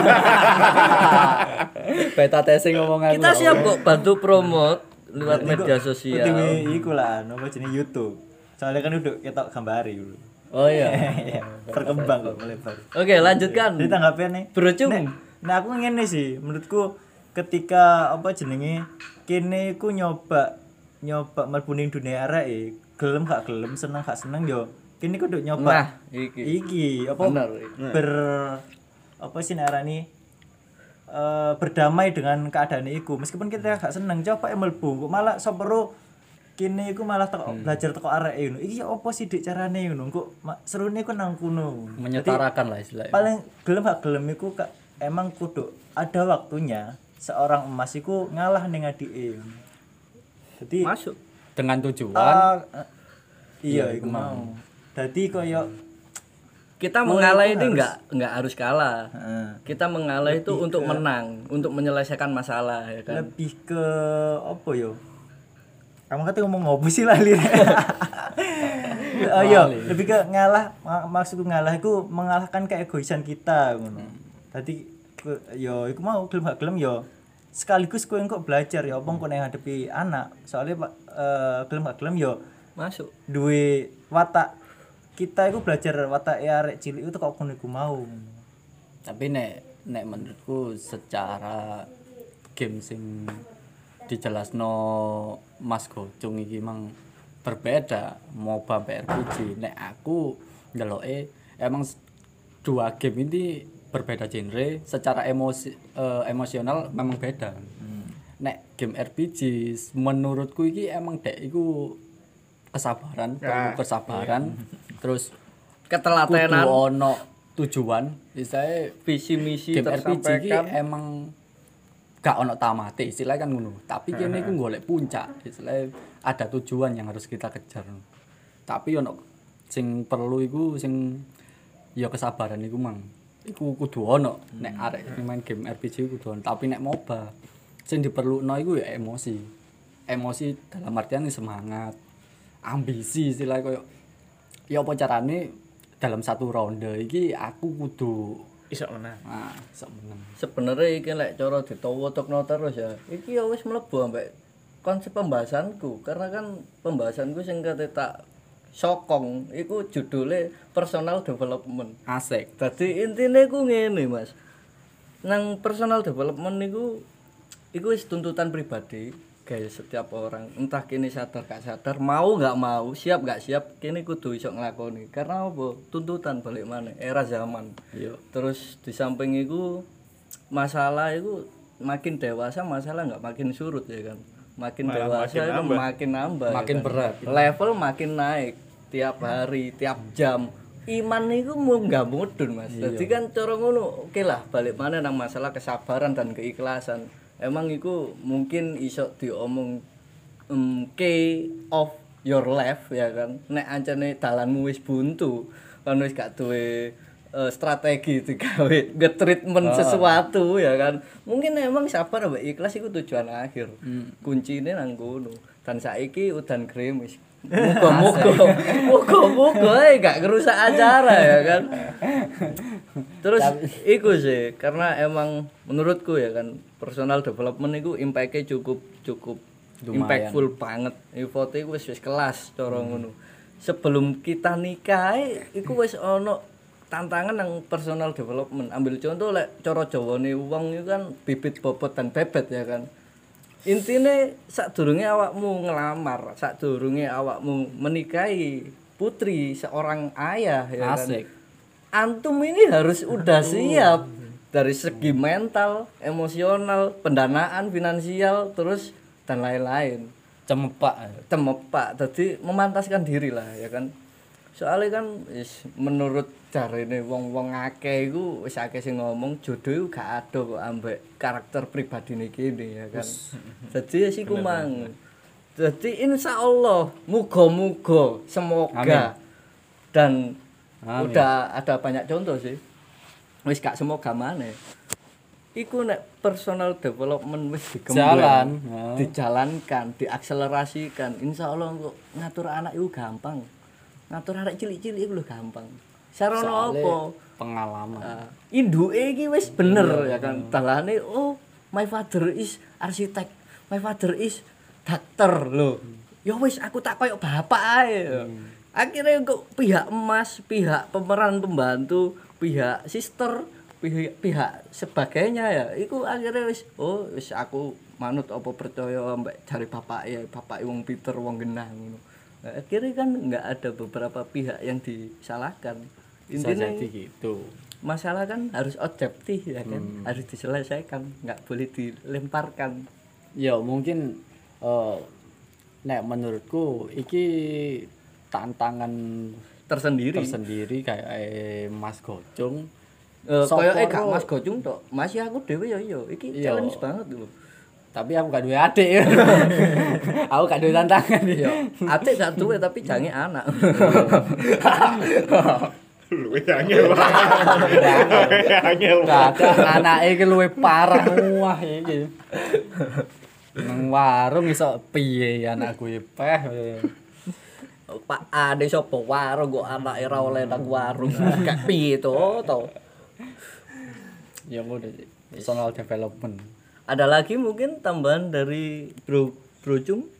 Beta testing omongan. Kita siap kok bantu promote lewat media sosial. Dewe iku lah apa jenenge YouTube. Soalnya kan udah ketok gambari dulu. Oh iya. Iya, berkembang kok melebar. Oke, lanjutkan. Jadi tanggapan nih. Bro Cung. Nah aku ngene sih, menurutku ketika apa jenenge kene iku nyoba mlebu ning dunia arek gelem gak gelem, seneng gak seneng yo. Kene kudu nyoba. Nah, iki. Iki apa Bener. apa sih narani berdamai dengan keadaan iku. Meskipun kita gak seneng coba mlebu, kok malah sopero kene iku malah teko belajar teko arek ngono. Iki apa sih dik carane ngono? Kok serune ku nang kono. Menyetarakan lah istilahnya. Paling gelem gak gelem iku emang kudu ada waktunya seorang emas iku ngalah ning adike. Jadi Masuk. Dengan tujuan iya iku mau. Dadi koyo Kita mengalah ini enggak harus kalah. heeh, Kita mengalah itu untuk menang, untuk menyelesaikan masalah ya kan. lebih ke apa yo? Kamu kata ngomong ngopo sih lali. Iya, lebih ke ngalah maksudku ngalah iku mengalahkan keegoisan kita ngono. Dadi yo iku mau gelem gak gelem yo sekaligus kowe engko belajar ya apa engko nek ngadepi anak. Soalnya gelem gak gelem yo Masuk. duwe watak kita iku belajar watak arek cilik itu kok ngono iku mau. Tapi nek menurutku secara game sing dijelasno Mas Gocung iki mang berbeda MOBA RPG. Nek aku ndeloke emang dua game ini berbeda genre, secara emosional memang beda. Nek game RPG menurutku iki emang dek iku kesabaran, perlu kesabaran. Terus Ketelatenan, kudu ono tujuan. Istilahnya visi misi game RPG iki tersampaikan. emang gak ono tamate istilahnya kan ngono. Tapi kene iku golek puncak. Istilahnya ada tujuan yang harus kita kejar. Tapi ono sing perlu iku sing ya kesabaran iku mang. Iku kudu ono nek arek main game RPG iku kudu ono. Tapi nek MOBA sing diperluno iku ya emosi. Emosi dalam artian semangat, ambisi istilahnya koyo ya apa carane dalam satu ronde iki aku kudu Iso menang. sok meneng. Sebenarnya iki lek cara ditawa-tokno terus ya. Iki ya wis mlebu ambek konsep pembahasanku karena kan pembahasanku sing kate tak sokong iku judulnya personal development. Asik. Dadi intine ku ngene, Mas. Nang personal development niku iku wis tuntutan pribadi guys setiap orang. Entah kene sadar gak sadar, mau gak mau, siap gak siap, kene kudu iso nglakoni. Karena apa? Tuntutan balik maneh era zaman. Iya. Terus di samping iku masalah iku makin dewasa masalah nggak makin surut ya kan. Makin Malah dewasa makin itu nambah. makin nambah. Makin ya kan? berat. Level makin naik tiap hari, tiap jam. Iman niku mau nggak mudun Mas. Jadi kan cara ngono, oke lah balik mana nang masalah kesabaran dan keikhlasan. Emang iku mungkin iso diomong key of your life ya kan. Nek ancane dalanmu wis buntu, kan wis gak duwe strategi digawe nge-treatment sesuatu ya kan. Mungkin emang sabar mbak ikhlas itu tujuan akhir. Kuncine nang kono. Dan saiki udan gerimis. Muga-muga gak ngerusak acara ya kan. Terus iku sih karena emang menurutku ya kan personal development itu impact-nya cukup impactful banget. Ivote iku wis kelas cara ngono. Sebelum kita nikah iku wis ono tantangan yang personal development. Ambil contoh lek cara Jawane wong iku kan bibit bobot dan bebet ya kan. Intine sadurunge awakmu ngelamar, sadurunge awakmu menikahi putri seorang ayah ya kan. Asik. Antum ini harus udah siap dari segi mental, emosional, pendanaan, finansial, terus dan lain-lain. Cemepak, jadi memantaskan diri lah ya kan. Soalnya kan menurut jarene wong-wong akeh iku wis akeh sing ngomong jodoh iku gak ada kok ambek karakter pribadine kene ya kan. Jadi siku mang. Jadi insyaallah muga-muga semoga. Amin. Dan Amin. udah ada banyak contoh sih. Wis gak semoga maneh. Iku nek personal development wis Jalan. dijalankan, diakselerasikan, insyaallah kok ngatur anak itu gampang. Ngatur arek cilik-cilik iku lho gampang. Sarana apa? Pengalaman. Induke iki wis bener ya kan. Dalane oh my father is arsitek, my father is dokter lho. Ya wis aku tak koyo bapak ae. Akhirnya kok pihak emas, pihak pemeran pembantu, pihak sister, pihak sebagainya ya. Iku akhirnya wis wis aku manut apa percaya mbak jare bapak wong pinter wong genah ngono. Nah, akhirnya kan nggak ada beberapa pihak yang disalahkan. Intinya gitu. masalah kan harus objektif ya kan, harus diselesaikan, nggak boleh dilemparkan. Ya mungkin nek menurutku iki tantangan tersendiri kayak Mas Gocung. Kayak gak Mas Gocung tok, masih aku dhewe ya iki challenge banget lho. Tapi aku gak duwe adik. Aku gak duwe tantangan ya. Adik gak duwe tapi jange anak. Luwe angel. Angel. Kadang anake iki luwe parah wah iki. Nang warung iso piye anakku iki peh. Pak Ade sapa warung kok anake ra oleh nang warung. Gak piye to. Ya ngono sih. Personal development. Ada lagi mungkin tambahan dari Bro Cung?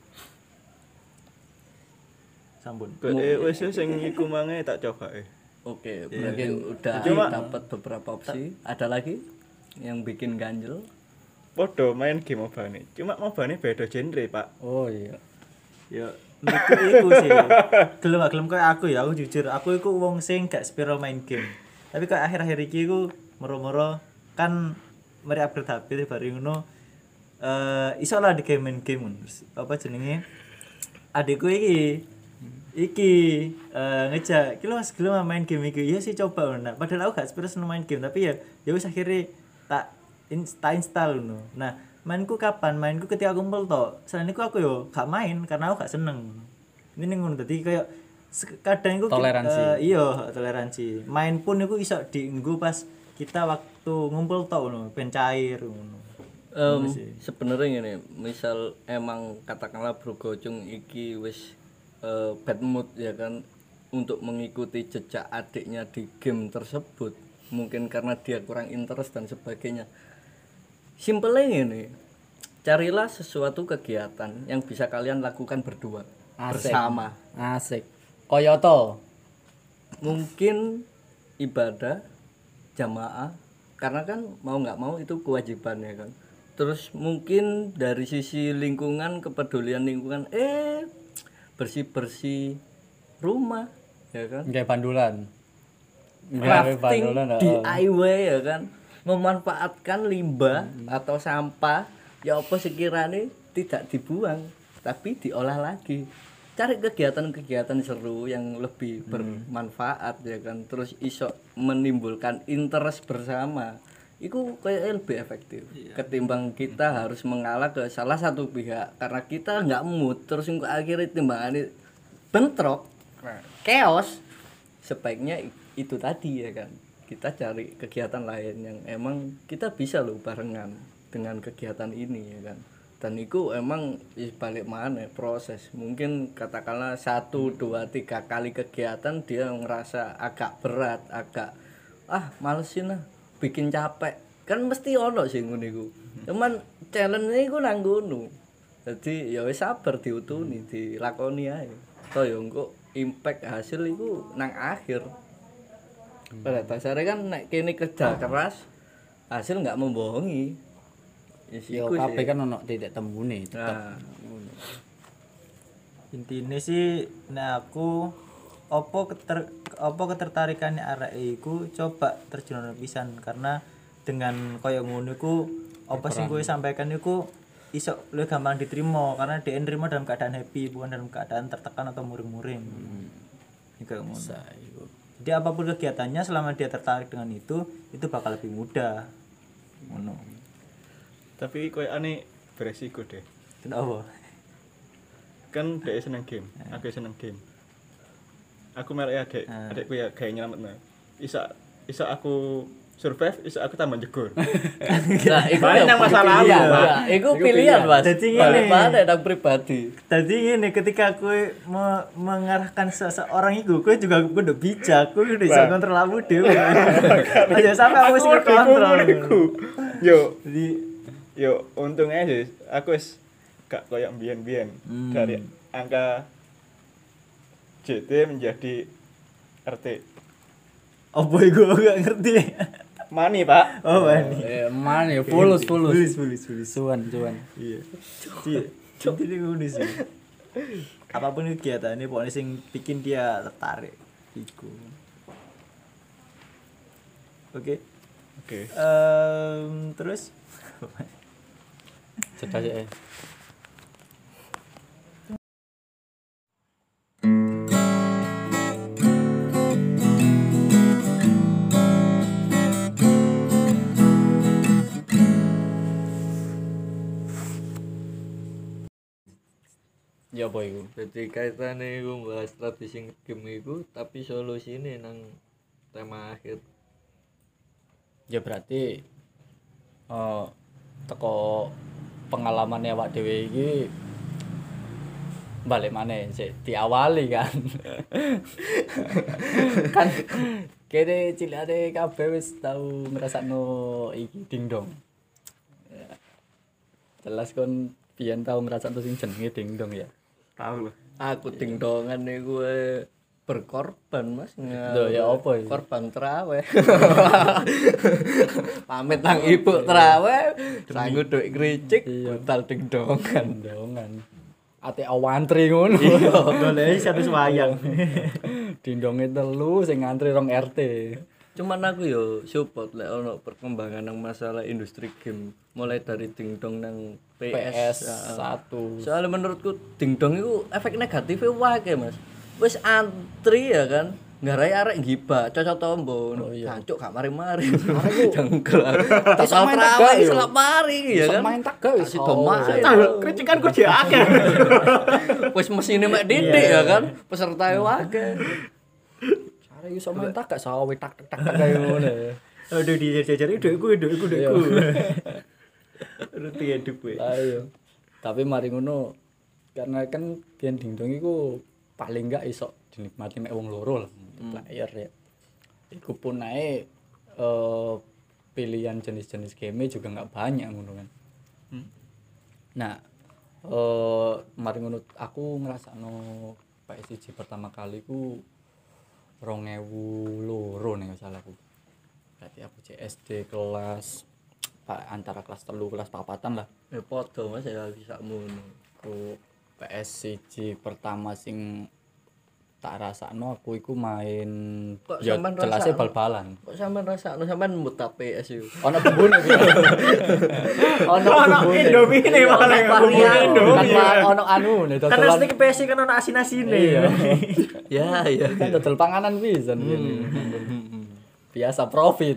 Sampun. Wis sing iku mange tak coba Oke, berarti udah Cuma- dapat beberapa opsi. Ada lagi yang bikin ganjel? Podo main game MOBA-ne. Cuma MOBA-ne beda genre, Pak. Oh iya. Ya menurutku iku sih. Gelem gak gelem koyo aku ya, aku jujur, aku iku wong sing gak spiral main game. Tapi kok akhir-akhir iki iku moro-moro kan mari upgrade HP bari ngono iso lah di game main game ngono. Apa jenenge? Adikku iki ngejak, "Ki lu Mas gelem main game iki." Ya sih coba ngono. Padahal aku gak spiral seneng main game, tapi ya wis akhirnya tak install ngono. Nah, mainku kapan? Mainku ketika kumpul to. Selain itu aku yo gak main karena aku gak seneng. Ini ngono dadi kayak kadang iku Toleransi. Iya, toleransi. Main pun iku iso dienggo pas kita waktu ngumpul to ngono, ben cair ngono. Sebenarnya gini, misal emang katakanlah Bro Gocung iki wis bad mood ya kan untuk mengikuti jejak adiknya di game tersebut, mungkin karena dia kurang interest dan sebagainya. Simpelnya ini, carilah sesuatu kegiatan yang bisa kalian lakukan berdua bersama. Asik. Koyoto. Mungkin ibadah jamaah, karena kan mau nggak mau itu kewajiban ya kan. Terus mungkin dari sisi lingkungan, kepedulian lingkungan, bersih-bersih rumah ya kan. Kayak bandulan. Crafting DIY ya kan, memanfaatkan limbah atau sampah ya apa sekiranya tidak dibuang tapi diolah lagi. Cari kegiatan-kegiatan seru yang lebih bermanfaat ya kan, terus iso menimbulkan interest bersama. Itu kayak lebih efektif ketimbang kita harus mengalah ke salah satu pihak karena kita nggak mood, terus akhirnya timbangannya bentrok, chaos. Sebaiknya itu tadi ya kan, kita cari kegiatan lain yang emang kita bisa loh barengan dengan kegiatan ini ya kan. Dan itu emang balik mana proses, mungkin katakanlah 1, 2, 3 kali kegiatan dia ngerasa agak berat, agak malesin lah, bikin capek, kan mesti ono sih ngono iku. Cuman challenge iku nang ngono. Jadi ya wis sabar diutuni, dilakoni ae. Toh ya engko impact hasil iku nang akhir. Pada dasarnya kan nek kene kerja keras, hasil nggak membohongi. Yo kabeh kan ono titik temune tetep. Intine sih nek aku apa ketertarikannya arek iku coba terjun pisan karena dengan koyo ngono iku apa sing kowe sampaikan iku iso luwih gampang diterima karena dia nerima dalam keadaan happy bukan dalam keadaan tertekan atau muring-muring. Iki koyo ngono. Jadi apapun kegiatannya selama dia tertarik dengan itu bakal lebih mudah. Ngono. Tapi koyo aneh beresiko deh. Kenapa? Kan dhek seneng game, aku seneng game. Aku melek adekku ya gawe nyelametno. Isa aku survive, isa aku tambah jegur. Nah, iku Banyak masalah lalu, Pak. Iku pilihan, Mas. Dadi balik ngene. mana nang pribadi. Tadi ini ketika aku mengarahkan seseorang itu, aku juga kudu bijak, aku udah bisa kontrol kamu dhewe. Aja sampai aku sing kontrol. Jadi untungnya sih aku wis gak koyo mbiyen-mbiyen dari angka JT menjadi RT. Apa iku aku gak ngerti. Mani, Pak. Oh, Bani. Mana ya fulus. Fulus. Cuan. Iya. Jadi ngono sih. Apapun kegiatannya pokoknya sing bikin dia tertarik iku. Oke. Terus Cedak ya. Ya apa iku? Jadi kaitane iku bahas strategi game iku tapi solusine nang tema akhir. Ya berarti teko pengalamannya awak dhewe iki balik maneh sik diawali kan. Kan kene cilikane kabeh wis tau ngrasakno iki dingdong. Ya. Jelas kon biyen tau ngrasakno sing jenenge dingdong ya. Tahu lho. Aku dingdongan niku berkorban, Mas. Loh, ya apa iki? Korban traweh. Pamit nang ibu traweh, sanggup duit kricik, budal dingdongan. Dingdongan. Ate awantri ngono. golek satu wayang. Dingdonge telu sing ngantri 2 RT. Cuman aku yo support lek ono perkembangan nang masalah industri game mulai dari dingdong nang PS1. Soalnya menurutku dingdong itu efek negatifnya wae Mas. Wis antri ya kan, ngarai arek gibah, cocok tombo. Cancuk gak mari-mari. Jengkel. Total trawe wis lak mari ya kan. Main tagak wis do main. Kricikan ku dhewe akeh. Wis mesine mek didik ya kan, pesertae akeh. Cara iso main tagak sawe tak kaya ngono. Aduh dijajar-jajari dekku. Ruti hidup kowe. Ayo. Tapi mari ngono karena kan biyen dingdong iku paling enggak iso dinikmati mek wong loro lah player ya. Iku pun ae pilihan jenis-jenis game juga enggak banyak ngono kan. Nah, mari ngono aku ngrasakno PS1 pertama kali ku 2002 nek salah aku. Berarti aku SD kelas antara kelas 3 kelas 4-an lah. Ya padha Mas ya bisa ngono. Ku PS1 pertama sing tak rasakno aku iku main Kok ya sampean jelasnya rasakno? bal-balan. Kok sampean rasakno sampean muta PS yo. Ono bumbune iki. Ono bumbune. Indomie ne malah varian. Kan ono anu nih Kan dodolan. asli PS kan ono asin-asine. Iya. Ya. Kan dodol panganan pisan ngene. Biasa profit.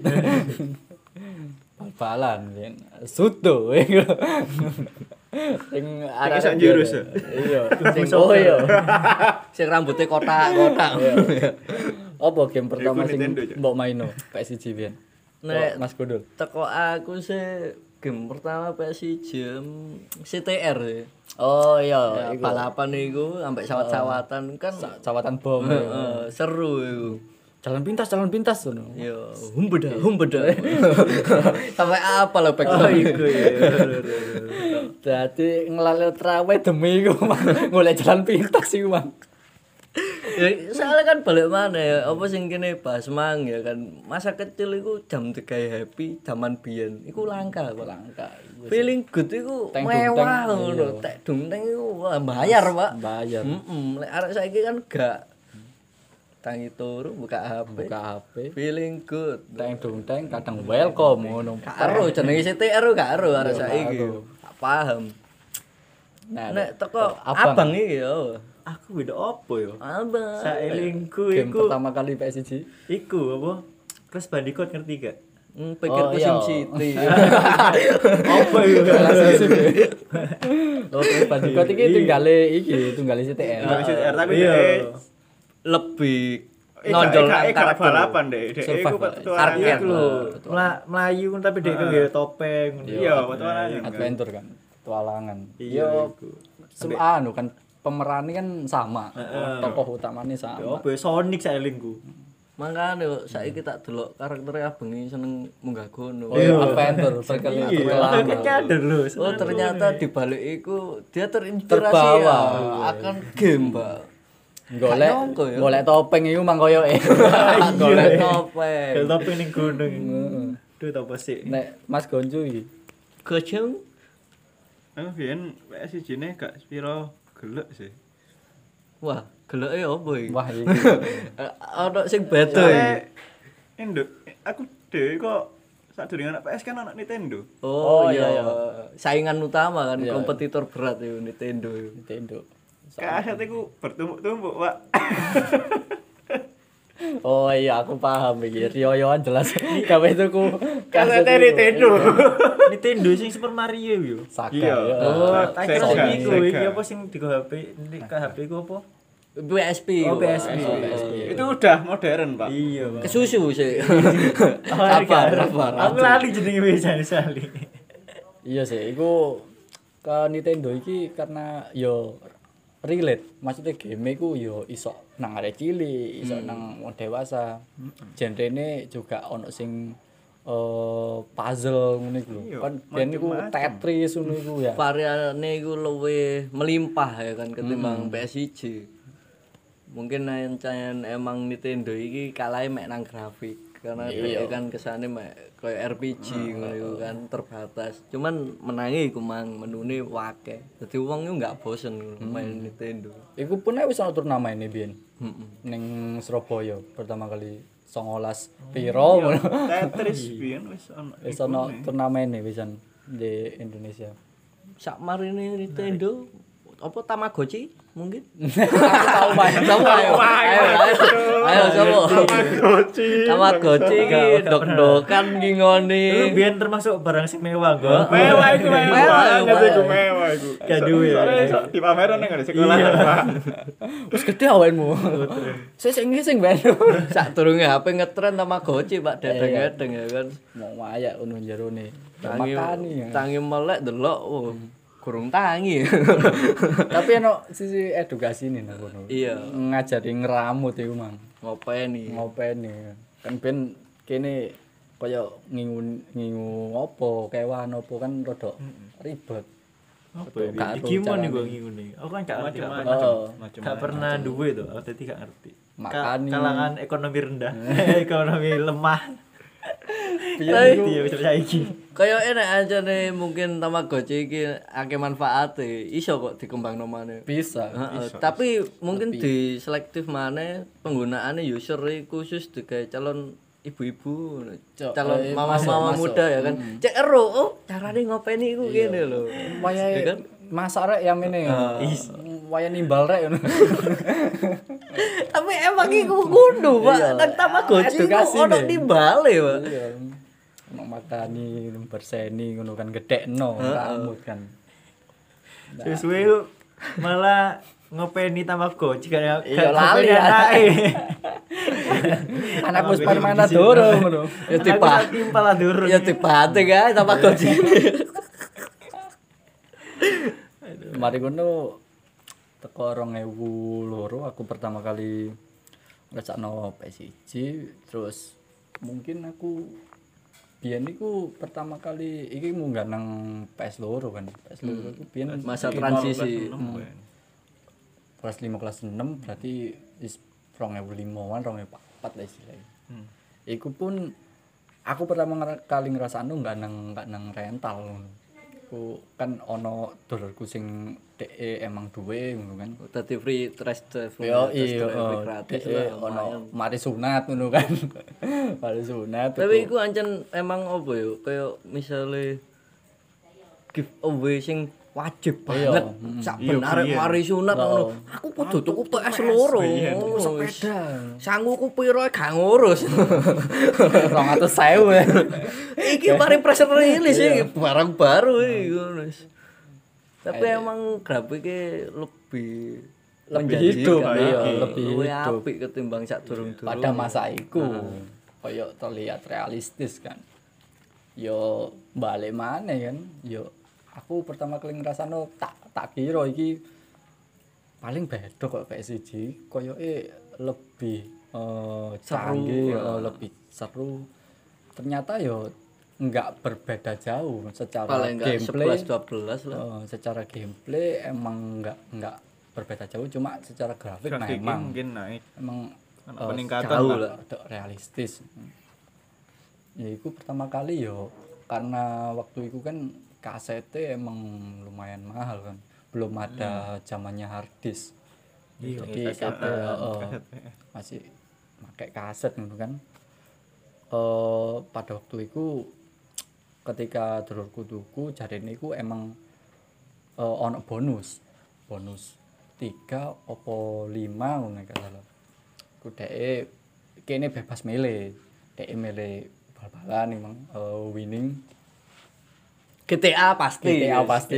Bal-balan yen soto iku. Sing iso njurus ya? Iya, Sing koyo. Sing rambutnya kotak-kotak. Apa game pertama Iku sing Nintendo, Cuk. mbok maino PS1 biyen? Nek Mas Gundul. teko aku sih game pertama PS1 CTR ya. Oh Ya, iya, iku balapan iku sampai sawat-sawatan kan cawatan bom. seru iku. Jalan pintas ngono. Yo, humbeda. Sampai apa lo pek Iku ya. Dadi nglalil trawe demi iku Mang. Golek jalan pintas iku Mang. Ya, soalnya kan balik mana ya, apa sing kene bahas mang ya kan. Masa kecil iku jam 3 happy, zaman biyen iku langka kok. Langka. Feeling good iku Teng mewah dungteng, ngono. iya. Tek dungteng iku wah, bayar, Pak. Bayar. Lek arek saiki kan gak tangi turu buka HP. Buka HP. Feeling good. Teng kadang welcome ngono. Karo jenenge CTR karo arek saiki. Gak paham. Nah, Nek teko abang. abang iki yo. Aku beda apa ya? Abang. Saelingku game iku pertama kali PS1. iku apa? Crash Bandicoot ngerti gak? Pikirku Oh, iya. SimCity. Apa iku? Oke, Bandicoot iki tunggale CTR. CTR tapi Iya. Lebih nonjol nonjol nang karakter karakter. balapan deh. Dek iku Survival. petualangan. Arcade Iku lho, melayu tapi dia kan nggawe topeng. Iya, petualangan. kan. Adventure kan, petualangan. Iya, Yo iku. anu kan pemerannya kan sama. Tokoh utamanya Ya sama. apa ya, Sonic saelingku. Makanya kok saiki tak delok karakternya abang ini seneng munggah gunung. Oh iya, Adventure Iya, aku berkelana. nyadar lho. Oh ternyata di balik itu dia terinspirasi Terbawa. ya, akan game, Mbak. Golek Gak nyongko ya. golek topeng iku mang koyoke. Golek Ada topeng. topeng ning gunung. Duh apa sih? Nek Mas Gonjo iki Gojeng Aku biyen PS1 ne gak spiro gelek sih. wah, geloke opo iki? wah iki. Ono sing beda iki. Indo, aku dhewe kok sadurunge anak PS kan anak Nintendo. Oh, Oh, iya, iya. saingan utama kan, Iya. kompetitor berat itu Nintendo. Nintendo. Kaset iku bertumpuk-tumpuk, Pak. Oh iya aku paham iki. Riyoyoan jelas. Gawe tuku Kaset iku. Nintendo. Nintendo sing Super Mario yo. Saga. Iya. ya. Oh, Sega, tak kira sing Sega, iku Sega. iki apa sing digo HP, ke HP ku apa? PSP. Oh, PSP. Itu udah modern, Pak. Iya, Pak. Kesusu sih. Sabar. Aku lali jenenge wis sali. Iya sih, iku ke Nintendo iki karena yo relate. Maksudnya game iku yo iso nang arek cilik, iso nang wong dewasa. Genrene juga ono sing puzzle ngono iku lho. Iya, Kan ben iku macem-macem. Tetris ngono iku ya. Variannya itu lebih melimpah ya kan ketimbang PS1. Mungkin ancen emang Nintendo iki kalah mek nang grafik karena dia kan kesane mek koyo RPG ngono iku kan terbatas. Cuman menangi iku mang menune wake. Dadi wong iku enggak bosen main Nintendo. Iku pun wis ono turnamene biyen. Heeh. Ning Surabaya pertama kali 19 piro ngono. Tetris biyen wis ono. Wis ono turnamene wisan di Indonesia. Sak marine Nintendo apa Tamagotchi mungkin? Tahu main. Coba ayo. Ayo coba. Tamagotchi iki dok-dokan ki ngene. Lu biyen termasuk barang sing mewah kok. Mewah iku Mewah, banget iku mewah iku. Gak duwe ya. Soalnya iso dipameran nang ngene sekolah, Pak. Wis gede awakmu. Sing ben. Sak turunge HP ngetren Tamagotchi Pak dedeng-dedeng ya kan. Mau mayak ngono jerone. Tangi Makani. tangi melek delok oh kurung tangi. Tapi ono sisi edukasi nih nang kono. Iya, Ngajari ngeramut iku, Mang. ngopeni. Ngopeni. Kan ben kene kaya ngingu apa, kewan apa kan rada ribet. Apa ya? Gak Iki tahu mon carane. iku ngene. Aku kan gak ngerti. Macam-macam. Gak pernah duwe to, aku dadi gak ngerti. Makani. Kalangan ekonomi rendah, ekonomi lemah. Piye Iya, wis saiki. Kayak enak aja nih mungkin Tamagotchi iki akeh manfaate. Iso kok dikembangno maneh. bisa. Heeh, tapi mungkin di selektif maneh penggunaane user khusus digawe calon ibu-ibu, calon masuk, mama-mama masuk. muda ya kan. Cek ero, oh carane ngopeni iku kene lho. Wayahe Ya kan? masak rek yang ini. Wayah nimbal rek ngono. Tapi emang iku kudu, Pak. Nang Tamagotchi Edukasi iku ono nih. timbale, Pak. Iya. Ono makani berseni ngono kan gedekno rambut kan. Sesuai lu malah ngopeni Tamagotchi kan ya. Iya, lali, anake. Anakku Spermana dorong ngono. Ya tiba. timpal durung. Ya tiba kae sama gojine. Mari ngono teko 2002 aku pertama kali ngrasakno PS1 terus mungkin aku biyen iku pertama kali iki munggah nang PS2 kan. PS2 iku biyen Masa transisi. kelas 5 kelas 6 berarti wis 2005-an 2004 lah istilahnya. Iku pun aku pertama kali ngrasakno enggak nang rental ngono. Ku kan ono dolerku sing DE emang duwe ngono kan. Dadi free test drive. Yo test iya drive gratis lah. ono mari sunat ngono kan. Mari sunat. Tapi iku ancen emang apa yo kayak misale giveaway sing wajib banget sak ben arek mari sunat ngono. Aku kudu tuku PS loro. Sepeda. Sanguku piro gak ngurus. 200.000. Iki mari press release iki barang baru iki ngono. Tapi emang grafike lebih hidup, menjanjikan, iya, lebih hidup. apik ketimbang sak durung-durung. Pada masa iku koyo terlihat realistis kan. Yo balik maneh kan. Yo aku pertama kali ngrasano tak kira iki paling beda kok PS1 koyoke lebih canggih, lebih seru. Ternyata yo enggak berbeda jauh secara paling enggak gameplay 11 12 lah. Secara gameplay emang enggak berbeda jauh cuma secara grafik nah emang mungkin naik. emang Peningkatan jauh lah. realistis. Ya itu pertama kali yo karena waktu itu kan kasetnya emang lumayan mahal kan. Belum ada zamannya hard disk. Jadi masih pakai kaset gitu kan. Pada waktu itu ketika dulurku tuku jarene iku emang ono bonus 3 opo 5 ngono gak salah. Ku dhek kene bebas milih. Dhek milih bal-balan emang winning GTA pasti. GTA pasti.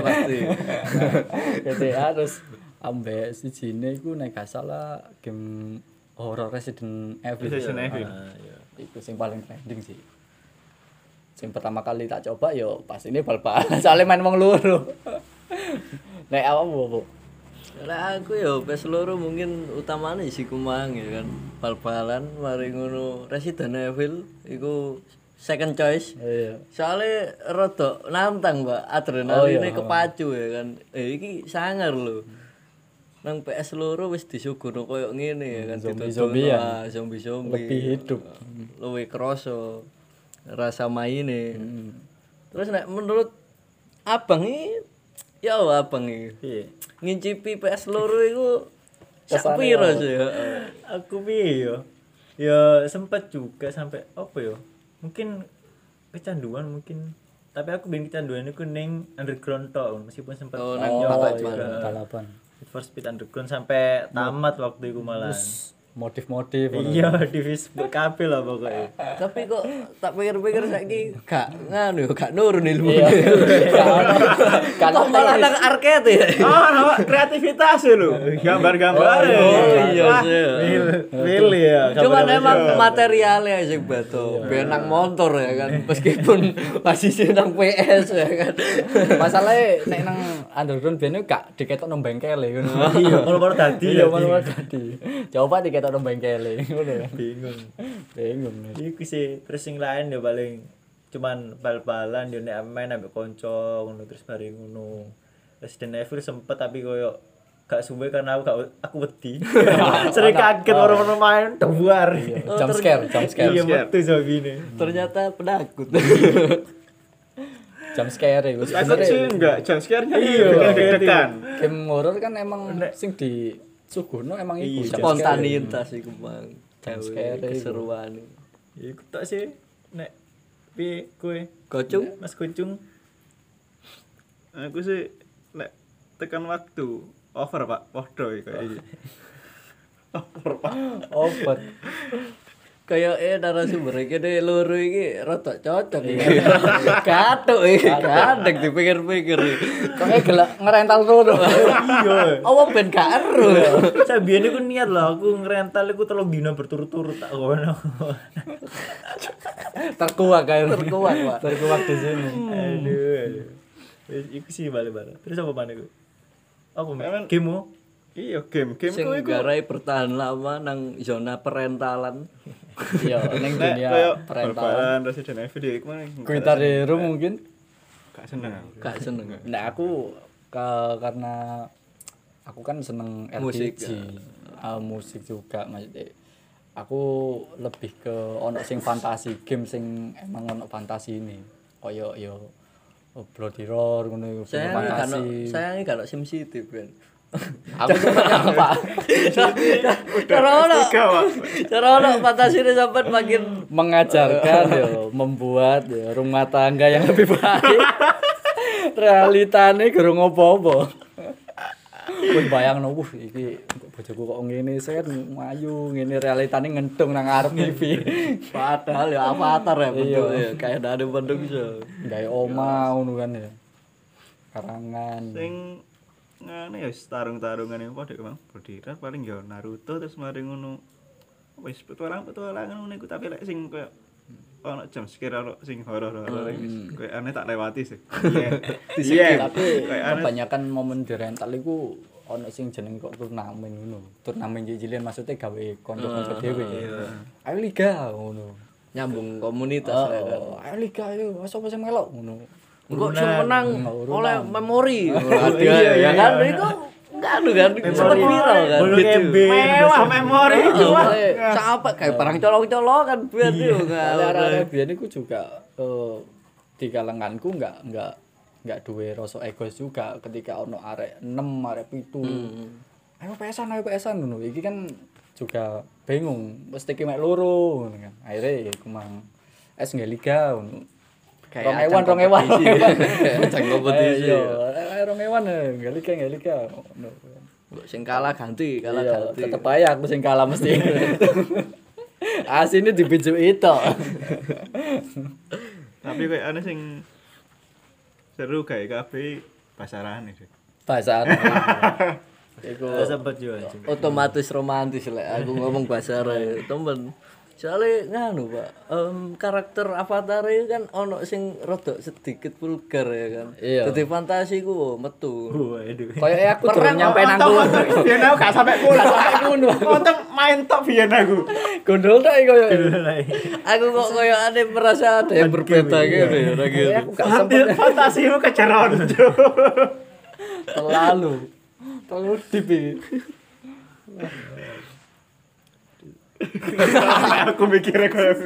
GTA terus ambek sijine iku nek gak salah game horror Resident Evil. Iku sing paling trending sih. Sing pertama kali tak coba yo pas ini bal-balan soalnya main wong loro. Nek awakmu opo? Lah aku ya PS loro mungkin utamane isi kumang ya kan. Bal-balan mari ngono Resident Evil iku second choice. Iya. Soalnya rada nantang, Mbak. Adrenaline kepacu ya kan. Iki sangar lho. Nang PS loro wis disuguhno koyo ngene ya kan Zombie-zombian. Zombie-zombie. Lebih hidup. Luwih krasa rasa maine. Terus nek menurut Abang iki ya Abang iki. Piye? Ngincipi PS loro iku sak piro sih? Aku piye yo? Ya sempet juga sampai apa yo? Mungkin kecanduan mungkin. Tapi aku bikin kecanduan iku ning underground tok meskipun sempat nyoba juga. Balapan. Need for Speed Underground sampai tamat waktu itu malah. Modif-modif Iya, di Facebook kabeh lah pokoknya. Tapi kok tak pikir-pikir saiki gak nganu gak nurun ilmu. Kalau Malah nang arcade ya. Oh, kreativitas lho. Gambar-gambar. Iya sih. Pilih ya. Cuman emang materialnya sing beda. Benang motor ya kan. Meskipun masih nang PS ya kan. masalahnya nek nang underground ben gak diketok nang bengkel ngono. Iya, kalau dadi. Iya, malah dadi. Coba diketok nang bengkel ngono ya. Bingung. Iku sih terus sing lain ya paling cuman bal-balan yo nek main ambek kanca ngono terus bareng ngono. Resident Evil sempet tapi koyo gak suwe karena aku wedi. Sering kaget orang-orang main duar. Jump scare. Iya metu zombine. Ternyata penakut. Jump scare iku. Aku sih enggak jump scare-nya Iya, deg-degan. Game horror kan emang sing di suguhno emang iku Spontanitas iku Bang. Jump scare Keseruan. Iku tak sih nek piye kowe? Gocung Mas Kucung. Aku sih nek tekan waktu over Pak, podo kayak iki. obat. Kayak narasumber iki dhewe loro iki rada cocok iki. Katuk iki, kadek dipikir-pikir. Kok gelek ngerental loro. Iya. Apa ben gak ero. Sabiyen iku niat lah aku ngrental iku 3 dina berturut-turut tak kono. Terkuak kae. Terkuak, Pak. Terkuak di sini. Aduh. Wis iku sih balik-balik. Terus apa maneh iku? Apa Emang- game? Iya, game-game Sing ku iku. garai bertahan lama nang zona perentalan. Iya, ning Nek dunia koyo perentalan. bal-balan Resident Evil iki kemana? Guitar Hero mungkin. Gak seneng aku. Gak seneng. Nah, aku karena aku kan seneng Musik, RPG, musik juga maksudnya. Aku lebih ke ono sing fantasi, game sing emang ono fantasi ini. Koyo yo Bloody Roar ngono iku film fantasi. Sayangi kalau SimCity kan. Aku seneng apa? Cara ono. Tiga, Pak. Cara ono fantasi ini sampai makin Mengajarkan yo, membuat yo, rumah tangga yang lebih baik. Realitane gurung apa-apa. Wis bayangno iki bojoku kok ngene set ayu ngene realitane ngentung nang ngarep TV. padahal ya avatar ya bentuknya kayak ada bentuk iso. Gawe omah ngono kan ya. Karangan. Sing ngene ya tarung-tarungan apa dek Bang? Bodirat paling ya Naruto terus mari ngono. Wis petualangan ngono iku tapi lek sing koyo ono jam sekira ono sing horor-horor iki koyo aneh tak lewati sih. Iya. Tapi Kayak aneh. kebanyakan momen di rental iku ono sing jeneng kok turnamen ngono. Turnamen cilik maksudnya gawe kanca-kanca dhewe. Ayo liga ngono. Nyambung komunitas ya kan. Ayo liga ayo, sapa sing melok ngono. Engko sing menang Urunan. oleh memori. Hadiah ya kan itu enggak kan sempat viral kan. Bolu MB. Mewah memori itu. Sampai kayak barang colong-colokan buat itu Arek-arek biyen iku juga di kalanganku enggak duwe rasa egois juga ketika ono arek 6, arek 7. Ayo pesan ngono. Iki kan juga bingung, mesti ki mek loro ngono kan. Akhire iku mang nggak liga ngono. Rong ewan. Ajang kompetisi. Iya, 2 ewan nggak liga ngono. Sing kalah ganti, kalah Iya, ganti. tetep ae aku sing kalah mesti. Asine dibijuk itu. Tapi koyo aneh sing seru kayak kabeh pasarane sih. Bahasa Iku Sempat juga. Otomatis romantis lah aku ngomong bahasa Arab temen. Soalnya nganu Pak, karakter avatar itu kan ono sing rada sedikit vulgar ya kan. Iya. Dadi fantasi ku metu. Waduh. koyo aku durung nyampe nang kono. Biyen aku gak sampe pulang. Nonton main tok biyen aku. Gondol tok koyo. Aku kok koyo ada merasa ada yang berbeda gitu ya ora gitu. Aku gak sempet Fantasimu kejaran. terlalu deep iki. Aku mikirnya koyo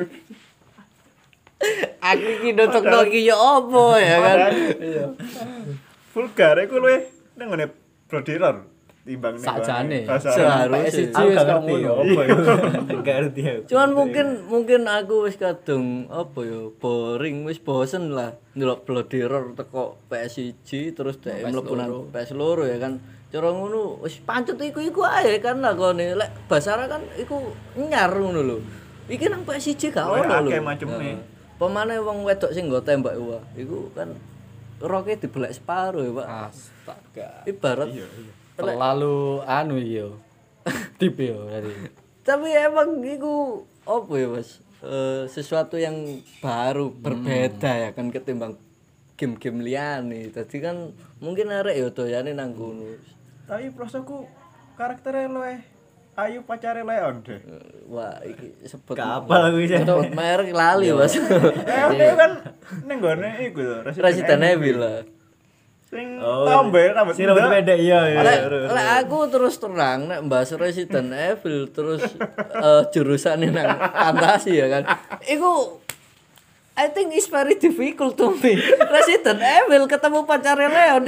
Aku iki nonton iki ya opo ya kan. vulgar iku luwe nang ngene Brodiror timbang ning Sakjane. Seharusnya. PSG Aku wis gak kok ngerti. ngono. Apa ya? Gak ngerti aku. Cuman mungkin aku wis kadung apa ya boring wis bosen lah ndelok Bloody Roar teko PSG terus dhek mlebu nang PS loro ya kan. Cara ngono wis pancet iku ae kan lakone lek Basara kan iku nyar ngono lho. Iki nang PSG gak ono lho. Akeh macemne. Pemane wong wedok sing nggo tembak wah iku kan roke dibelek separo ya, Pak. Astaga. Ibarat Terlalu anu yo. Deep yo tadi. tapi emang iku apa ya Mas sesuatu yang baru berbeda ya kan ketimbang game-game liyane tadi kan mungkin arek ya doyane nang kono Tapi prosoku karakternya luwe ayu pacare Leon deh. wah iki sebut Kapal aku iki. sebut merek lali Mas Leon itu kan ning gone iku lho Resident Evil lah Sing tombe rambut Sing rambut pendek iya. lek aku terus terang nek bahas Resident Evil terus jurusan nang fantasi ya kan iku I think it's very difficult to me. Resident Evil ketemu pacare Leon iku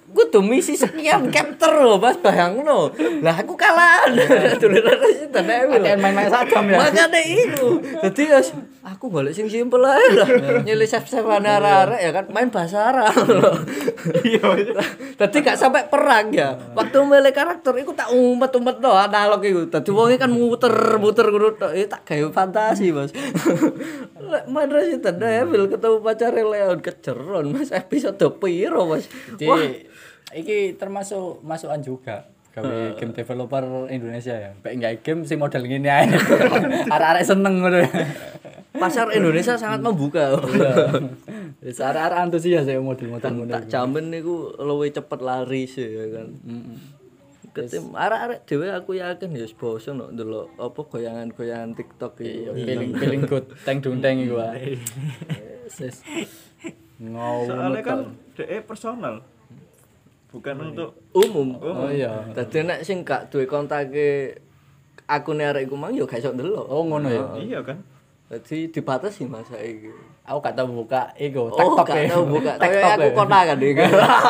kudu misi sekian capture lho Mas bayangno. Lah aku kalah. Dolanan Resident Evil. Main-main sagam ya. Makane iku. Dadi wis aku golek sing simpel ae lah. Nyilih save-savean arek-arek ya kan main bahasa Arab. Iya. Dadi gak sampai perang ya. Waktu milih karakter iku tak umet-umetno analog iku. Dadi wonge kan muter-muter ngono tok. Tak gawe fantasi, Mas. Lek main Resident Evil ketemu pacare Leon kejeron Mas episode piro Mas. Jadi iki termasuk masukan juga gawe game developer Indonesia ya. Kayak nggak game sih model ngene ae. Arek-arek seneng ngono. Pasar Indonesia sangat membuka. Wis arek-arek antusias ya model-model ngono. Tak jamin niku luwih cepet laris ya kan. Ketim arek-arek dhewe aku yakin ya wis bosen kok ndelok apa goyangan-goyangan TikTok iki. Feeling good teng dunteng iku wae. Wis. Soalnya kan DE personal. Bukan untuk Umum. Oh iya. Dadi nek sing gak duwe kontake akune arek iku mang ya gak iso ndelok. Oh ngono ya. iya kan. Dadi dibatasi masa iki. Aku gak tau buka iku Oh, TikTok gak tau buka. Tapi TikTok aku kontakan iki.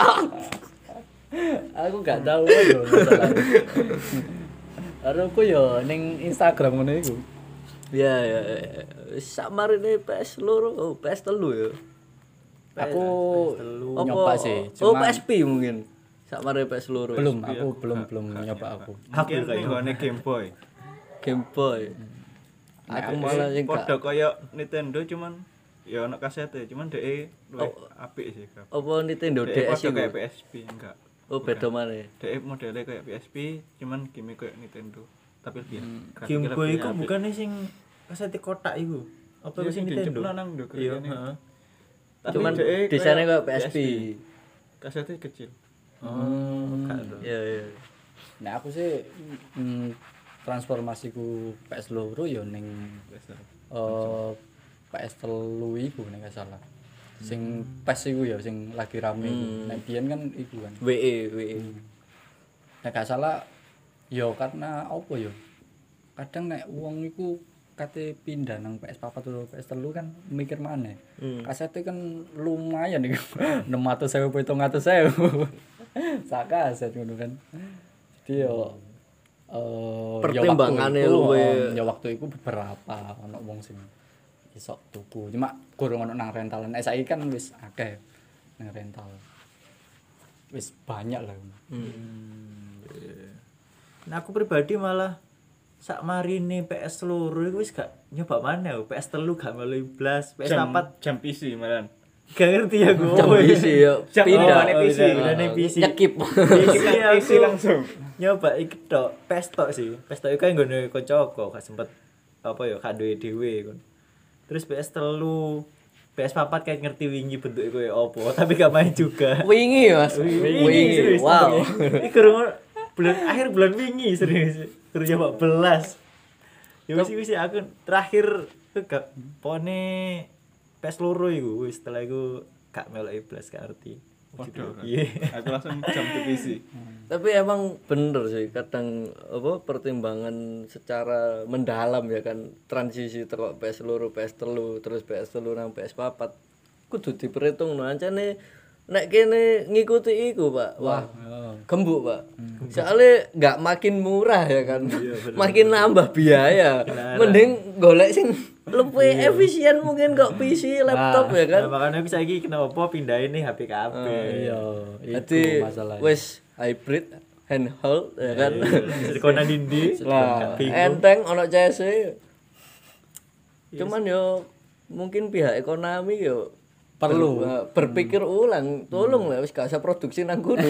Aku gak tau lho masalah. Aku yo ning Instagram ngono iku. Ya ya. Sak marine PS loro, oh PS telu ya. Aku Apa- nyoba sih, Oh cuma PSP mungkin. Sak marine PS loro. belum nyoba aku. Mungkin nggone Game Boy. Game Boy. Aku malah sing gak Padha kaya Nintendo cuman ya ono kasete, cuman DE luwih apik sih. Kak. apa Nintendo DE DS padha iku. kayak PSP enggak. Oh beda maneh. DE modelnya kayak PSP, cuman game kayak Nintendo. Tapi lebih Game Boy iku bukannya sing kasete kotak iku. Apa Iya, sing sing Nintendo? dijepno nang ndok Iya, kene. heeh. Cuman desainnya kayak PSP. Kasetnya kecil. Iya iya. Nah aku sih transformasiku PS loro yo ning PS telu iku nek gak salah. Sing PES iku ya sing lagi rame iku. Nek biyen kan iku kan. WE. Nek gak salah yo karena apa yo? Kadang nek wong iku kate pindah nang PS4 atau PS3 kan mikir maneh. Kasete kan lumayan iku. 600.000 700.000. Sak kaset ngono kan. Jadi yo Pertimbangannya luwe. ya waktu itu beberapa ono wong sing iso tuku. Cuma kurang ono nang rentalan. Saiki kan wis akeh nang rental. Wis banyak lah. Nah aku pribadi malah sak marine PS loro iku wis gak nyoba maneh. PS telu gak melu blas, PS4 jam PC malan. gak ngerti aku. Jam PC ya. Pindah. Pindah PC. Nyekip. PC langsung. Nyoba iki tok, PS tok sih. PS tok iku kan nggone kancaku, gak sempet apa ya gak duwe dhewe kon. Terus PS telu, PS4 kayak ngerti wingi bentuke koyo apa, tapi gak main juga. Wingi Mas. Wingi. Serius, Wow. Iki kurang akhir bulan wingi serius. Kurang nyoba belas. Ya wis aku terakhir tuh gak pone PS loro iku wis setelah iku gak melok belas gak ngerti. Waduh. Iya. Aku langsung jam ke PC. Tapi emang bener sih kadang apa pertimbangan secara mendalam ya kan transisi teko PS loro PS telu terus PS telu nang PS4 kudu diperhitungno ancane nek kene ngikuti iku Pak. Wah, gembuk Pak. Soalnya nggak makin murah ya kan. Makin nambah biaya. Mending golek sing lebih efisien mungkin kok PC laptop ya kan. Nah, makanya aku saiki kenapa pindahin nih HP KB. Iya, Jadi itu masalahnya. wis hybrid handheld ya kan. Konan dindi. Lah, enteng ono CS. Cuman yo mungkin pihak ekonomi yo Perlu. berpikir ulang, tolong lah wis gak usah produksi nang kono.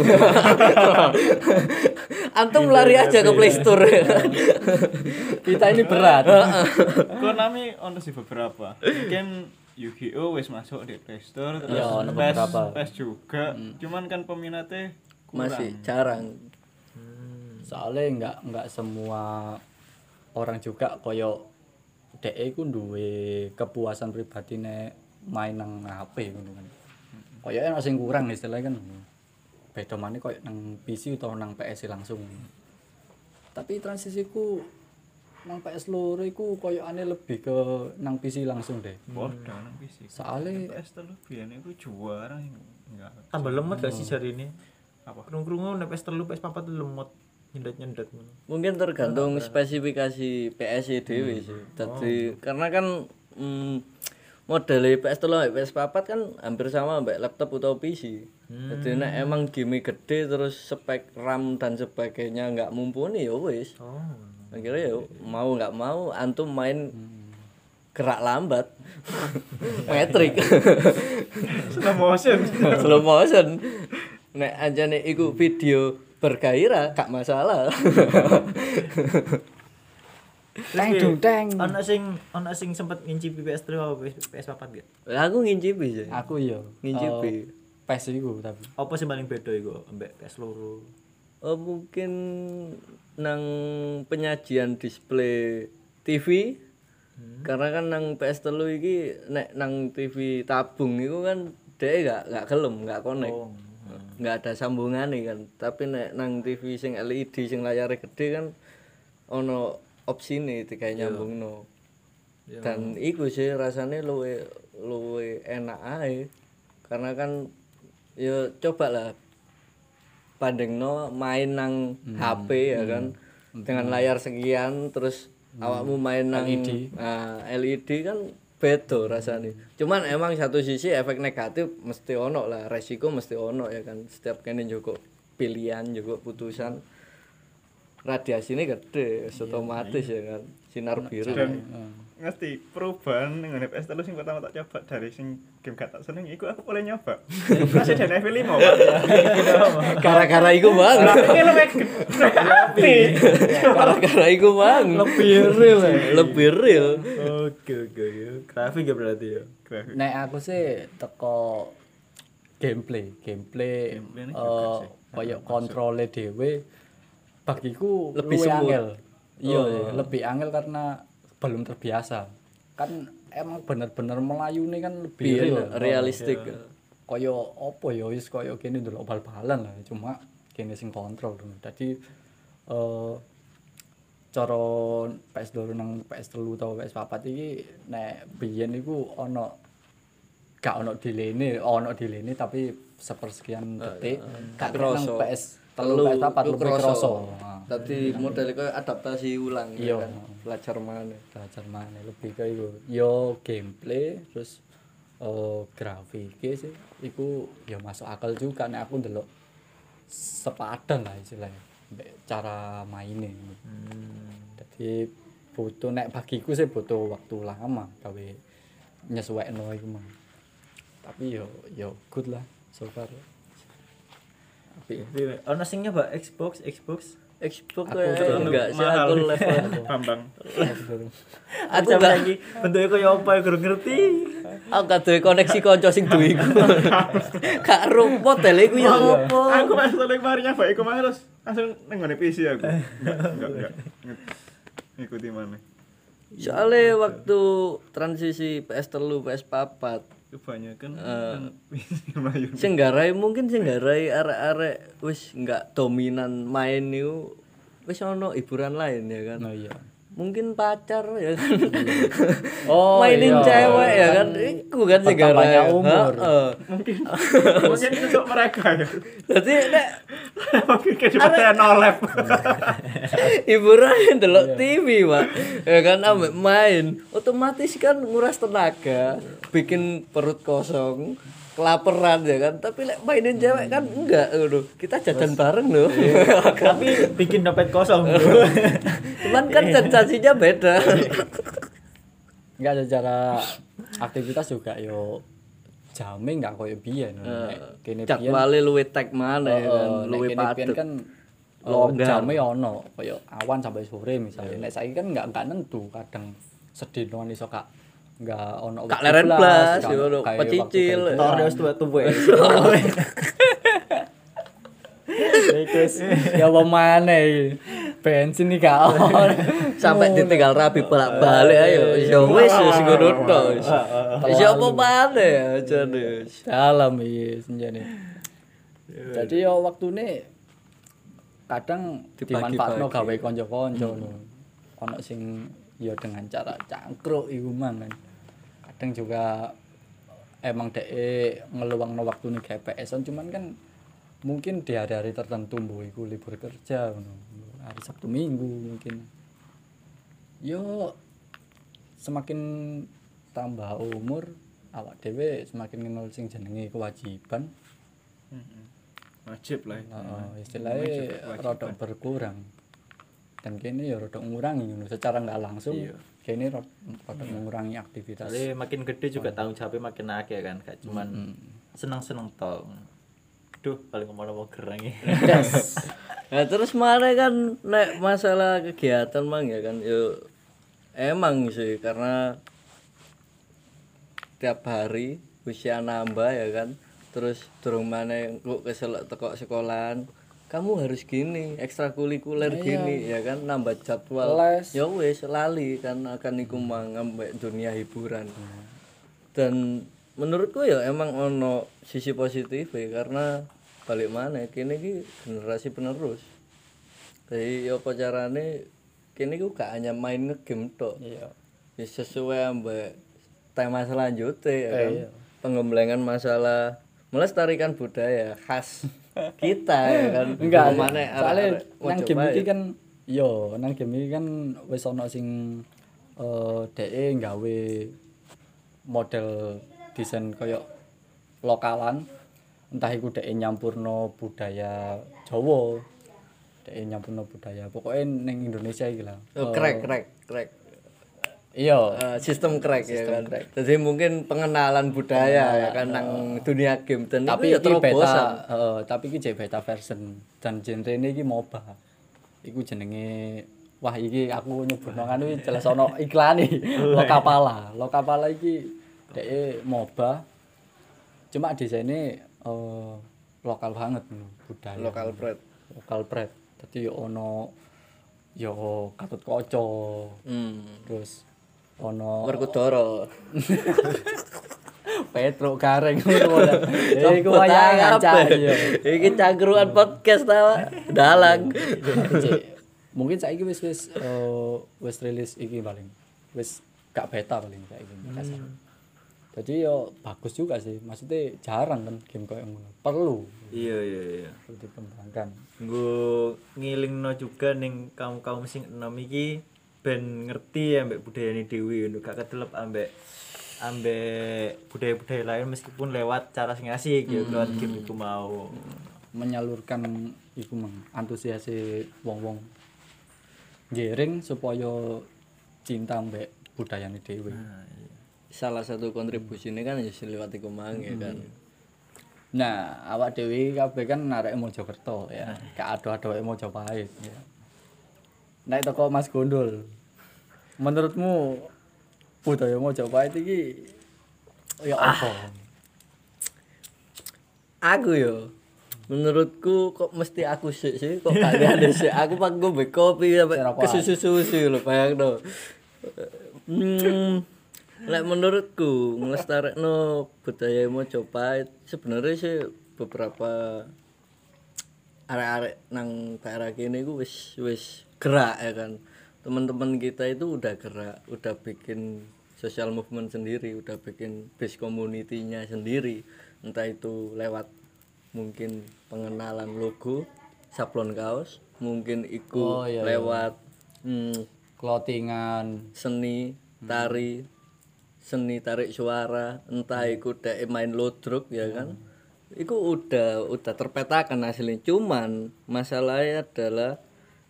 Antum lari aja ke Play Store. Kita ini berat. Konami ono sih beberapa. Mungkin Yu-Gi-Oh wis masuk di Play Store terus Iya, ono PES, beberapa. PES juga. Cuman kan peminatnya kurang. Masih jarang. Soalnya enggak semua orang juga koyo DE ku duwe kepuasan pribadi nek main nang HP ngono kan. Koyoke ana sing kurang istilahnya kan. Beda maneh koyo nang PC utawa nang PS langsung. Tapi transisiku nang PS loro iku koyokane lebih ke nang PC langsung deh. Bodoh nang PC. Soale PS telu biyen iku juara enggak. Tambah lemot gak sih jari ini? Apa? Krungu-krungu nek PS3 PS4 lemot nyendet-nyendet ngono. Mungkin tergantung spesifikasi PS dhewe sih. Dadi karena kan model PS3 lan PS4 kan hampir sama mbak laptop atau PC. Jadi nek emang game gede terus spek RAM dan sebagainya nggak mumpuni ya wis. Oh. Akhirnya ya mau nggak mau antum main gerak lambat. Metrik. Slow motion. Slow motion. Nek anjane iku video bergairah gak masalah. Teng dung teng. Ana sing sempet ngincipi PS3 apa PS4 gak? Aku ngincipi sih. Aku yo Ngincipi. PES iku tapi. Apa sing paling beda iku ambek PS loro? Oh mungkin nang penyajian display TV. Karena kan nang PS3 iki nek nang TV tabung iku kan dhek gak gelem, gak connect. Nggak ada sambungannya kan. Tapi nek nang TV sing LED sing layarnya gede kan ono opsine kayak nyambungno. Dan iku sih rasane luwe enak ae. Karena kan ya coba lah bandingno main nang HP ya kan dengan layar sekian terus awakmu main nang LED. Nah, LED kan beda rasanya. Cuman emang satu sisi efek negatif mesti ono lah, resiko mesti ono ya kan. Setiap kene njogo pilihan, njogo putusan radiasinya gede, otomatis ya kan. Sinar biru. Dan ngerti perubahan dengan PS3 sing pertama tak coba dari sing game gak tak seneng iku aku boleh nyoba. Resident Evil 5 Pak. Gara-gara iku bang. Ini lebih Gara-gara iku bang. Lebih real. Lebih real. Oke ya. Grafik ya berarti ya. grafik. Nek aku sih teko gameplay Gameplaynya juga sih. koyo kontrole dhewe bagiku Lebih luwih smooth. angel. Iya, lebih angel karena belum terbiasa. Kan emang bener-bener melayune kan lebih Realistik. Koyo apa ya wis koyo kene ndelok bal-balan lah cuma kene sing kontrol. Dadi cara PS2 nang PS3 utawa PS4 iki nek biyen iku gak ono delay-ne tapi sepersekian detik gak Kroso. nang PS3 PS4 lebih kroso. Tadi model koyo adaptasi ulang Iya. ya kan. Belajar mana. Belajar mana lebih ke iku. Yo gameplay terus grafiknya sih iku ya masuk akal juga nek aku ndelok sepadan lah istilahnya mbek cara maine. Jadi butuh nek bagiku sih butuh waktu lama gawe nyesuaikno iku mah. Tapi yo good lah so far. Ana sing nyoba Xbox. Xbox Aku enggak sih mahal. aku level. Bambang. Aku Aku enggak lagi bentuknya kaya apa ya kurang ngerti. aku gak duwe koneksi kanca sing duwe iku. Gak ro modele iku ya opo. Aku pas lagi kemarin nyoba iku mah terus langsung nenggone PC aku. Enggak. Ngikuti mana. Soale waktu transisi PS3 PS4 Kebanyakan PC Melayu. sing garai mungkin sing garai arek-arek wis enggak dominan main niku wis ono hiburan lain ya kan. Oh iya. Mungkin pacar ya kan. Oh, mainin iya. cewek ya kan. Iku kan sing Bertambahnya garai. umur. Heeh. Mungkin untuk mereka ya. Dadi nek Mungkin kayak cuma saya nolep. hiburan ndelok TV, Pak. Ya kan ambek main, otomatis kan nguras tenaga, bikin perut kosong, kelaparan ya kan. Tapi lek mainin cewek kan enggak ngono. Kita jajan bareng loh. Tapi bikin dompet kosong, Bro. Cuman kan sensasinya beda. Enggak secara aktivitas juga yo jame enggak koyo biyen. Nek kene biyen Jadwale luwe tek mana ya kan, luwe nek kene biyen padet. kan Longgar. jame ono koyo awan sampai sore misalnya. Nek saiki kan enggak nentu, kadang sedino iso kak enggak ono Kak leren blas, gak yo ono kayak pecicil. waktu Tor wis tuwek-tuwek. Terus ya apa maneh bensin iki gak ono. Sampai ditinggal rabi bolak-balik ayo. Ya wis ngono tok. Wis apa maneh ajane. Dalam iki senjane. Jadi ya waktune kadang Dibagi-bagi. dimanfaatno gawe kanca-kanca lho. Ono sing ya dengan cara cangkruk iku mang kan. Kadang juga emang dhek ngeluangno waktune gawe PS-an cuman kan mungkin di hari-hari tertentu mbok iku libur kerja ngono. Hari Sabtu Minggu mungkin. Yo semakin tambah umur awak dhewe semakin kenal sing jenenge kewajiban. Wajib lah. Istilahnya rada berkurang. Dan kene ya rada ngurangi ngono secara enggak langsung. Kene rada mengurangi aktivitas. Soalnya makin gede juga tanggung jawabnya makin akeh kan, gak cuman seneng-seneng tok. Duh, paling ngomong-ngomong gerang iki. Nah terus mana kan nek masalah kegiatan mang ya kan yo emang sih karena tiap hari usia nambah ya kan terus durung maneh kok keselak teko sekolahan kamu harus gini ekstrakurikuler gini ya kan nambah jadwal ya wis lali kan akan iku mang ambek dunia hiburan dan menurutku ya emang ono sisi positif ya karena balik mana kini ki generasi penerus jadi ya apa carane kini ku gak hanya main ngegame tok Iya. ya sesuai ambek tema selanjutnya ya kan pengembangan masalah melestarikan budaya khas kita ya kan Enggak, mana soalnya nang game iki kan yo nang game iki kan wis ana sing DE nggawe model desain koyo lokalan entah iku DE nyampurno budaya Jawa DE nyampurno budaya pokoknya ning Indonesia iki lah crack iya sistem crack ya kan jadi mungkin pengenalan budaya ya kan nang dunia game dan tapi itu ya iki beta terobosan tapi iki jek beta version dan genrene iki MOBA iku jenenge wah iki aku nyebutno kan iki jelas ana iklane Lokapala iki dhek MOBA cuma desainnya lokal banget budaya lokal pride dadi yo ono yo Gatotkaca terus ono Werkudara Petro Gareng ngono. Iku wayangan cah yo. iki cangkruan podcast ta dalang Mungkin saiki wis rilis iki paling. Wis gak beta paling saiki. Jadi yo bagus juga sih. Maksudnya jarang kan game koyo ngono. Perlu Iya. dikembangkan. Nggo ngilingno juga ning kaum-kaum sing enom iki ben ngerti ambek budayane dhewe ngono gak kedelep ambek budaya-budaya lain meskipun lewat cara sing asik ya lewat game iku mau Menyalurkan iku mang antusiase wong-wong giring supaya cinta mbek budayane dhewe. salah satu kontribusinya kan ya lewat iku mang ya kan Nah, awak dhewe kabeh kan arek Mojokerto ya. Gak ado-adoke Mojopahit ya. Nek teko Mas Gondol. Menurutmu budaya Mojopahit iki ya apa? aku yo menurutku kok mesti aku sih kok gak ada sih aku pak gue kopi sampai kesusu lho bayangno lek menurutku nglestarekno budaya Mojopahit sebenarnya sih beberapa arek-arek nang daerah kene iku wis gerak ya kan teman-teman kita itu udah gerak udah bikin social movement sendiri udah bikin base community-nya sendiri entah itu lewat mungkin pengenalan logo sablon kaos mungkin iku lewat Clothingan, seni tari seni tarik suara entah iku dek main lodruk ya kan iku udah terpetakan hasilnya cuman masalahnya adalah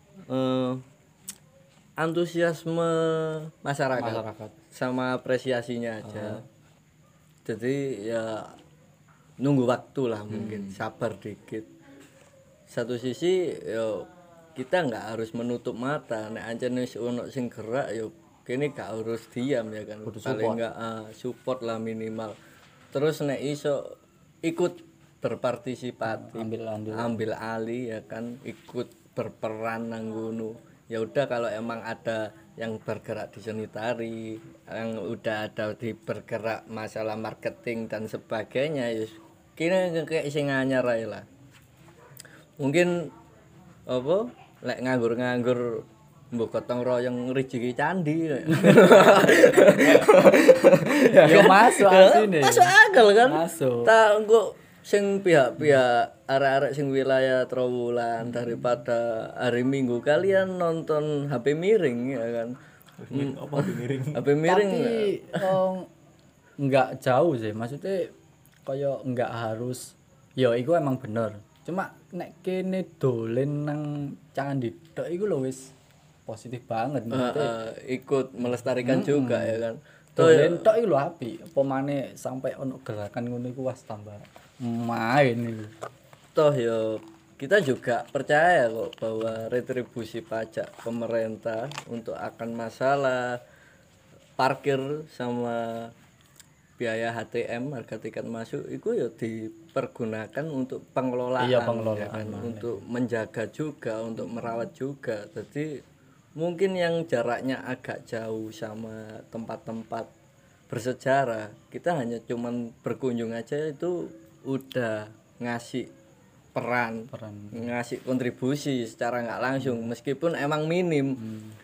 antusiasme masyarakat sama apresiasinya aja jadi ya nunggu waktu lah mungkin sabar dikit satu sisi yo kita nggak harus menutup mata nek ancen wis ono sing gerak yo kene gak harus diam ya kan paling enggak support lah minimal terus nek iso ikut berpartisipasi ambil alih ya kan ikut berperan nang ngono ya udah kalau emang ada yang bergerak di seni tari yang udah ada di bergerak masalah marketing dan sebagainya ya kene kayak sing anyar ae lah mungkin apa lek nganggur mbok gotong royong rezeki candi. Ya masuk asine. Masuk akal kan? Masuk. Tak engko sing pihak-pihak arek-arek sing wilayah Trowulan daripada hari Minggu kalian nonton HP miring ya kan. Apa miring? HP miring Tapi enggak jauh sih, maksudnya kaya enggak harus ya iku emang bener. Cuma nek kene dolen nang candi tok iku lho wis positif banget maksudnya. ikut melestarikan juga ya kan. Dolen tok iku lho apik. Apa maneh sampai ono gerakan ngono iku wis tambah main iku. Toh ya kita juga percaya kok bahwa retribusi pajak pemerintah untuk akan masalah parkir sama biaya HTM harga tiket masuk itu ya dipergunakan untuk pengelolaan, Iya, pengelolaan, ya kan? Untuk menjaga juga, untuk merawat juga. Jadi mungkin yang jaraknya agak jauh sama tempat-tempat bersejarah, kita hanya cuman berkunjung aja itu udah ngasih peran. Ngasih kontribusi secara nggak langsung meskipun emang minim.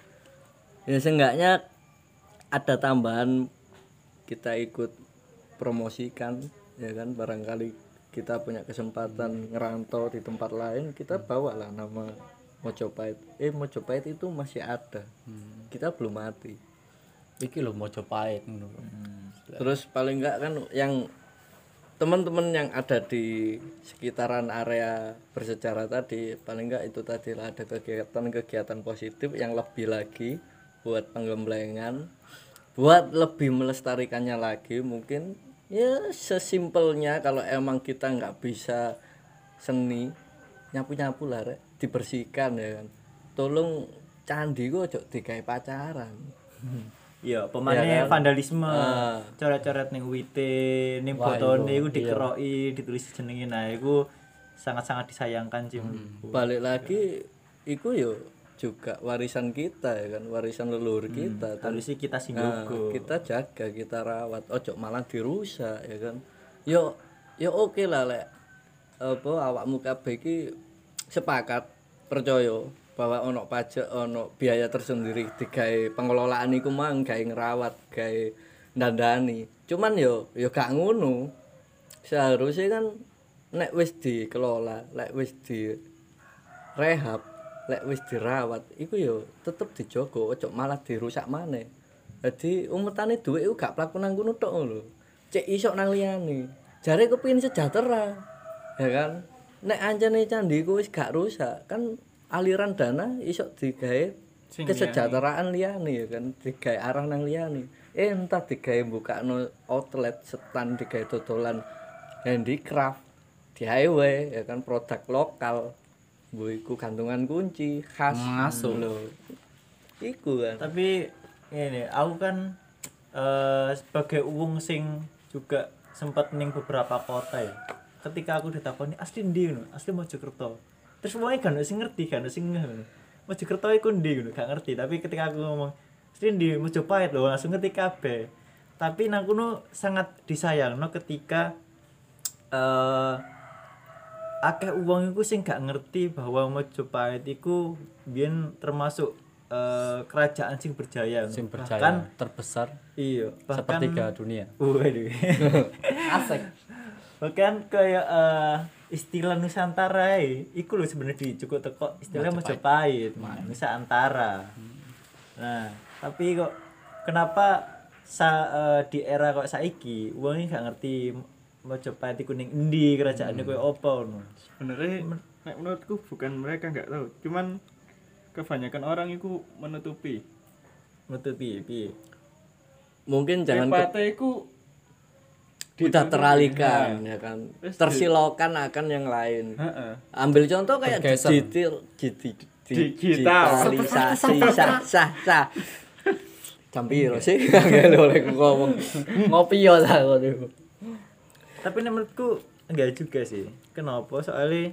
Ya seenggaknya ada tambahan, kita ikut promosikan ya kan, barangkali kita punya kesempatan ngerantau di tempat lain, kita bawalah nama Mojopahit. Mojopahit itu masih ada, kita belum mati. Iki lho Mojopahit ngono. Terus paling enggak kan yang teman-teman yang ada di sekitaran area bersejarah tadi, paling enggak itu tadi lah ada kegiatan-kegiatan positif yang lebih lagi buat penggemblengan, buat lebih melestarikannya lagi. Mungkin ya sesimpelnya kalau emang kita nggak bisa seni, nyapu-nyapu lah rek, dibersihkan ya kan. Tolong candi kok ojo digawe pacaran. Iya, pemane Iya kan? vandalisme, coret-coret ning wite, ning Wah, botone iku, iku dikeroki, ditulis jenenge. Nah, iku sangat-sangat disayangkan sih. Balik lagi iku yo juga warisan kita ya kan, warisan leluhur kita. Harusnya kita sing Nah, jaga. kita jaga, kita rawat, ojo malah dirusak ya kan. Yo oke lah lek apa awakmu kabeh iki sepakat percaya bahwa ono pajak, ono biaya tersendiri digawe pengelolaan iku mang gawe ngerawat, gawe ndandani. Cuman yo gak ngono. Seharusnya kan nek wis dikelola, lek wis direhab, lek wis dirawat, iku yo tetep dijogo, ojo malah dirusak maneh. Jadi umetane dhuwit iku gak plaku nang kono tok lho. Cek iso nang liyane. Jare kepengin sejahtera. Ya kan? Nek anjane candi iku wis gak rusak, kan aliran dana iso digawe kesejahteraan liyane ya kan, digawe arah nang liyane. Entah digawe mbukakno outlet, stand digawe dodolan handicraft, DIY ya kan, produk lokal. Mbok iku gantungan kunci khas Masuk lho. Iku kan. Tapi ini aku kan sebagai wong sing juga sempat ning beberapa kota ya. Ketika aku ditakoni asli ndi ngono, asli Mojokerto. Terus wong kan sing ngerti kan sing ngono. Mojokerto iku ndi ngono, gak ngerti. Tapi ketika aku ngomong asli ndi Mojopahit lho, langsung ngerti kabeh. Tapi nang kono sangat disayangno ketika akeh wong iku sing gak ngerti bahwa Mojopahit iku biyen termasuk kerajaan sing berjaya. Sing berjaya Bahkan terbesar iya, bahkan sepertiga dunia. waduh. Asik. Bahkan kayak istilah Nusantara iku lho sebenarnya cukup teko istilah Mojopahit, Nusantara. Nah, tapi kok kenapa di era kok saiki wong gak ngerti Mojopahit iku ning endi, kerajaane koyo apa ngono. Sebenarnya nek menurutku bukan mereka nggak tahu, cuman kebanyakan orang itu menutupi. Piye? Mungkin jangan Partai itu udah teralihkan ya kan, tersilaukan akan yang lain. Ambil contoh kayak digitalisasi sah jam piro sih nggak boleh ngomong ngopi ya lah. Tapi menurutku enggak juga sih. Kenapa? Soalnya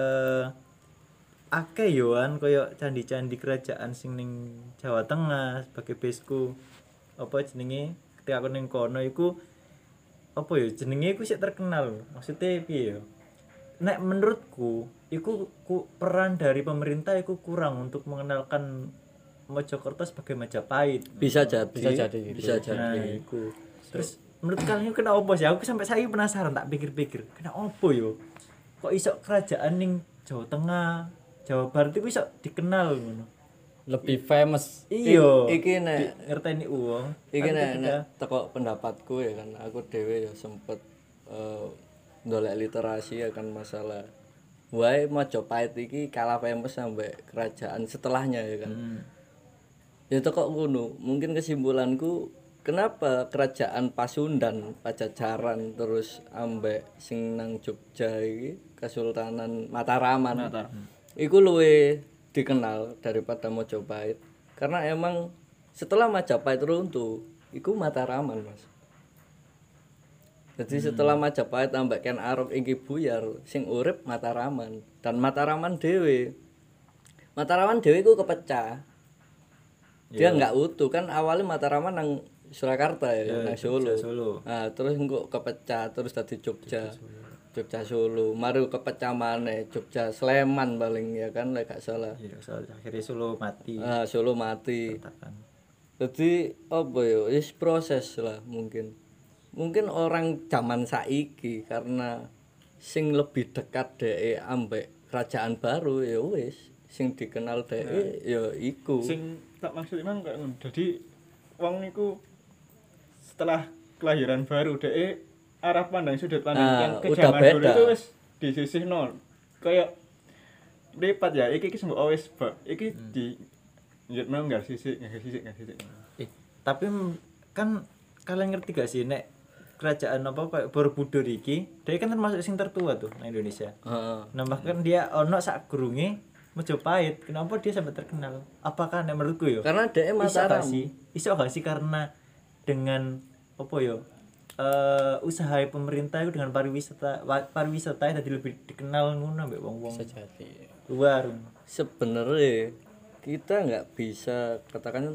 akeh yoan koyo candi-candi kerajaan sing ning Jawa Tengah sebagai baseku. Apa jenenge? Ketika aku ning kono iku apa ya jenenge iku sik terkenal. Maksudnya piye ya? Nek menurutku iku peran dari pemerintah iku kurang untuk mengenalkan Mojokerto sebagai Majapahit. Bisa jadi. Nah, iku. Terus menurut kalian kenapa sih? Aku sampai saya penasaran, tak pikir-pikir. Kenapa yo? kok iso kerajaan ning Jawa Tengah, Jawa Barat itu iso dikenal ngono. Lebih famous. Iya. Iki nek Ngerteni uang. iki nek teko pendapatku ya kan aku dhewe ya sempet ndolek literasi akan masalah wae Majapahit iki kalah famous sampai kerajaan setelahnya ya kan. Ya teko ngono, mungkin kesimpulanku kenapa kerajaan Pasundan, Pajajaran terus ambek sing nang Jogja iki Kesultanan Mataraman. Iku luwe dikenal daripada Majapahit karena emang setelah Majapahit runtuh iku Mataraman Mas. Jadi setelah Majapahit ambek Ken Arok iki buyar sing urip Mataraman dan Mataraman dhewe iku kepecah. Dia nggak utuh kan awalnya Mataraman nang Surakarta ya, nang Solo. Nah, terus engko kepecah terus tadi Jogja. Jogja Solo, mari kepecah maneh Jogja Sleman paling ya kan lek gak salah. Iya, soal akhirnya Solo mati. Solo mati. Katakan. Jadi apa ya, wis proses lah mungkin. Mungkin orang zaman saiki karena sing lebih dekat dhek ambek kerajaan baru ya wis sing dikenal dhek ya iku. Sing tak maksud emang kayak ngono. Jadi wong niku setelah kelahiran baru dhek arah pandang sudut pandang yang ke udah zaman dulu beda. itu wis disisihno. Kayak lipat ya iki semua wis bab. Iki di njut mau enggak sisik. Tapi kan kalian ngerti gak sih nek kerajaan apa kayak Borobudur iki, dia kan termasuk sing tertua tuh di Indonesia. Heeh. Nah, bahkan dia ono sak gurunge Majapahit. Kenapa dia sampai terkenal? Apakah nek menurutku yo? Karena dhek Mataram. Iso gak sih karena dengan apa yo? Usaha pemerintah itu dengan pariwisata tadi lebih dikenal ngono mbek wong-wong Sejati. luar. Sebenarnya kita nggak bisa katakan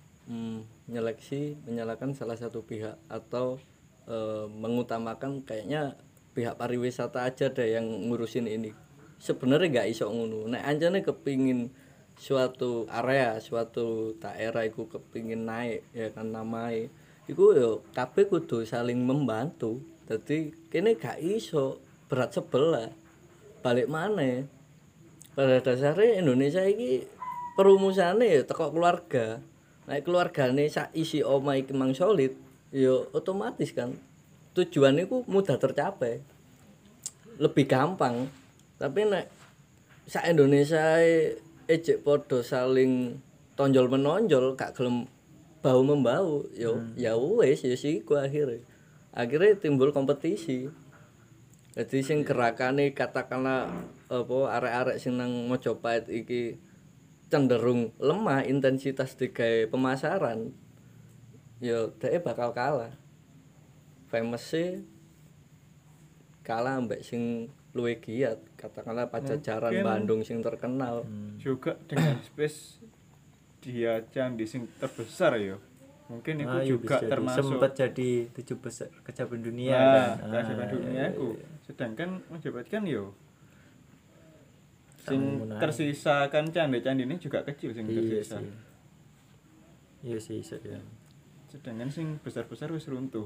menyalahkan salah satu pihak atau mengutamakan kayaknya pihak pariwisata aja deh yang ngurusin ini. Sebenarnya nggak iso ngono. Nek anjane kepingin suatu area, suatu daerah iku kepingin naik ya kan namae. Iku yo kabeh kudu saling membantu. Dadi kene gak iso berat sebelah. Balik maneh. Pada dasarnya Indonesia iki perumusane ya teko keluarga. Nek keluargane sak isi omah iki mang solid, ya otomatis kan tujuan iku mudah tercapai. Lebih gampang. Tapi nek sak Indonesia ejek padha saling tonjol menonjol gak gelem bau membau ya wis ya siku akhirnya timbul kompetisi. Jadi sing gerakane katakanlah apa arek-arek sing nang Majapahit iki cenderung lemah intensitas digawe pemasaran ya dhek bakal kalah. Famous-e kalah ambek sing luwih giat katakanlah Pajajaran Bandung sing terkenal. Juga dengan space dia candi sing terbesar ya. Mungkin itu juga termasuk sempat jadi 7 besar kecapan dunia nah, kan. kecapan dunia itu. Sedangkan Majapahit kan yo sing tersisa kan candi-candi ini juga kecil sing tersisa. Iya sih ya. Sedangkan sing besar-besar wis runtuh.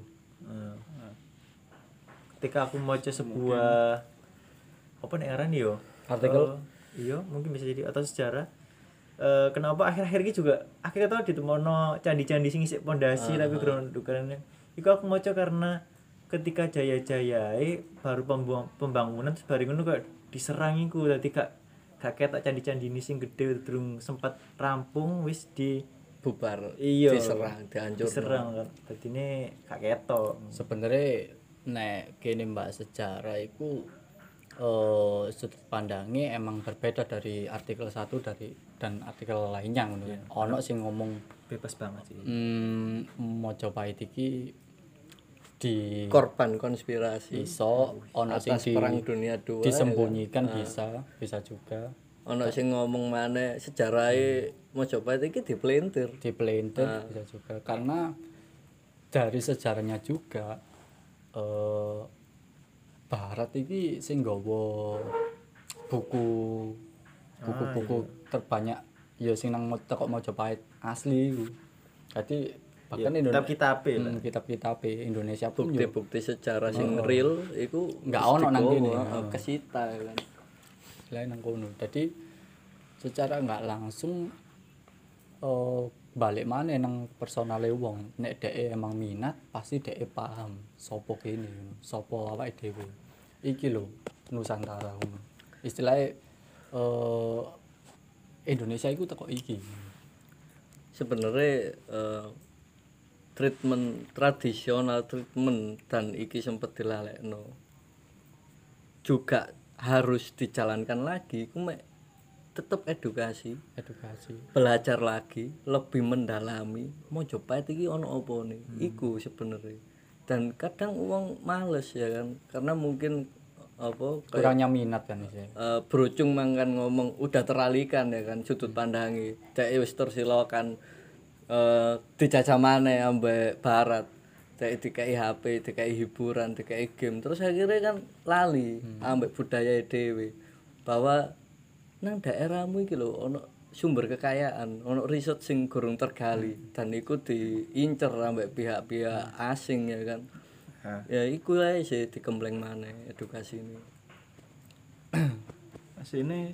Ketika aku maca sebuah apa nek aran yo Artikel iya mungkin bisa jadi atau sejarah kenapa akhir-akhir ini juga akhirnya tau ditemono candi-candi sing isik pondasi tapi grundukannya iku aku maca karena ketika jaya-jayae baru pembangunan terus bareng ngono kok diserang iku dadi gak ketok candi-candi ini sing gede durung sempat rampung wis di Bubar iya diserang dihancur diserang kan dadine gak ketok sebenarnya nek kene mbak sejarah iku sudut pandangnya emang berbeda dari artikel 1 dan artikel lainnya ngono. Ono sing ngomong bebas banget sih. Majapahit iki di korban konspirasi iso ono sing atas perang dunia 2 disembunyikan bisa juga. Ono sing ngomong maneh sejarahe Majapahit iki dipelintir Bisa juga karena dari sejarahnya juga Barat iki sing nggawa buku terbanyak ya sing nang teko Majapahit asli iku. Dadi bahkan kitab-kitab lah. kitab-kitab Indonesia pun yo bukti-bukti sejarah sing real iku nggak ono nang kene. kesita kan. Lain nang kono. Jadi secara nggak langsung balik mana nang personale wong. Nek dhek emang minat, pasti dhek paham sapa kene, sapa awake dhewe. Iki lho Nusantara ngono. Istilahnya Indonesia iku teko iki. Sebenarnya treatment tradisional treatment dan iki sempat dilalekno juga harus dijalankan lagi ku mek tetep edukasi belajar lagi lebih mendalami mau coba iki ono apa nih iku sebenarnya dan kadang uang males ya kan karena mungkin apa kurangnya minat kan sih. Brocung mangkan ngomong udah teralihkan ya kan sudut pandangi dek wis tersilokan dijajah maneh ambek barat dek dikai HP dikai hiburan dikai game terus akhirnya kan lali ambek budaya dhewe bahwa nang daerahmu iki lho ono sumber kekayaan ono riset sing gorong tergali dan iku diincer ambek pihak-pihak asing ya kan. Ya iku ae sih dikempleng maneh edukasi ini. Asine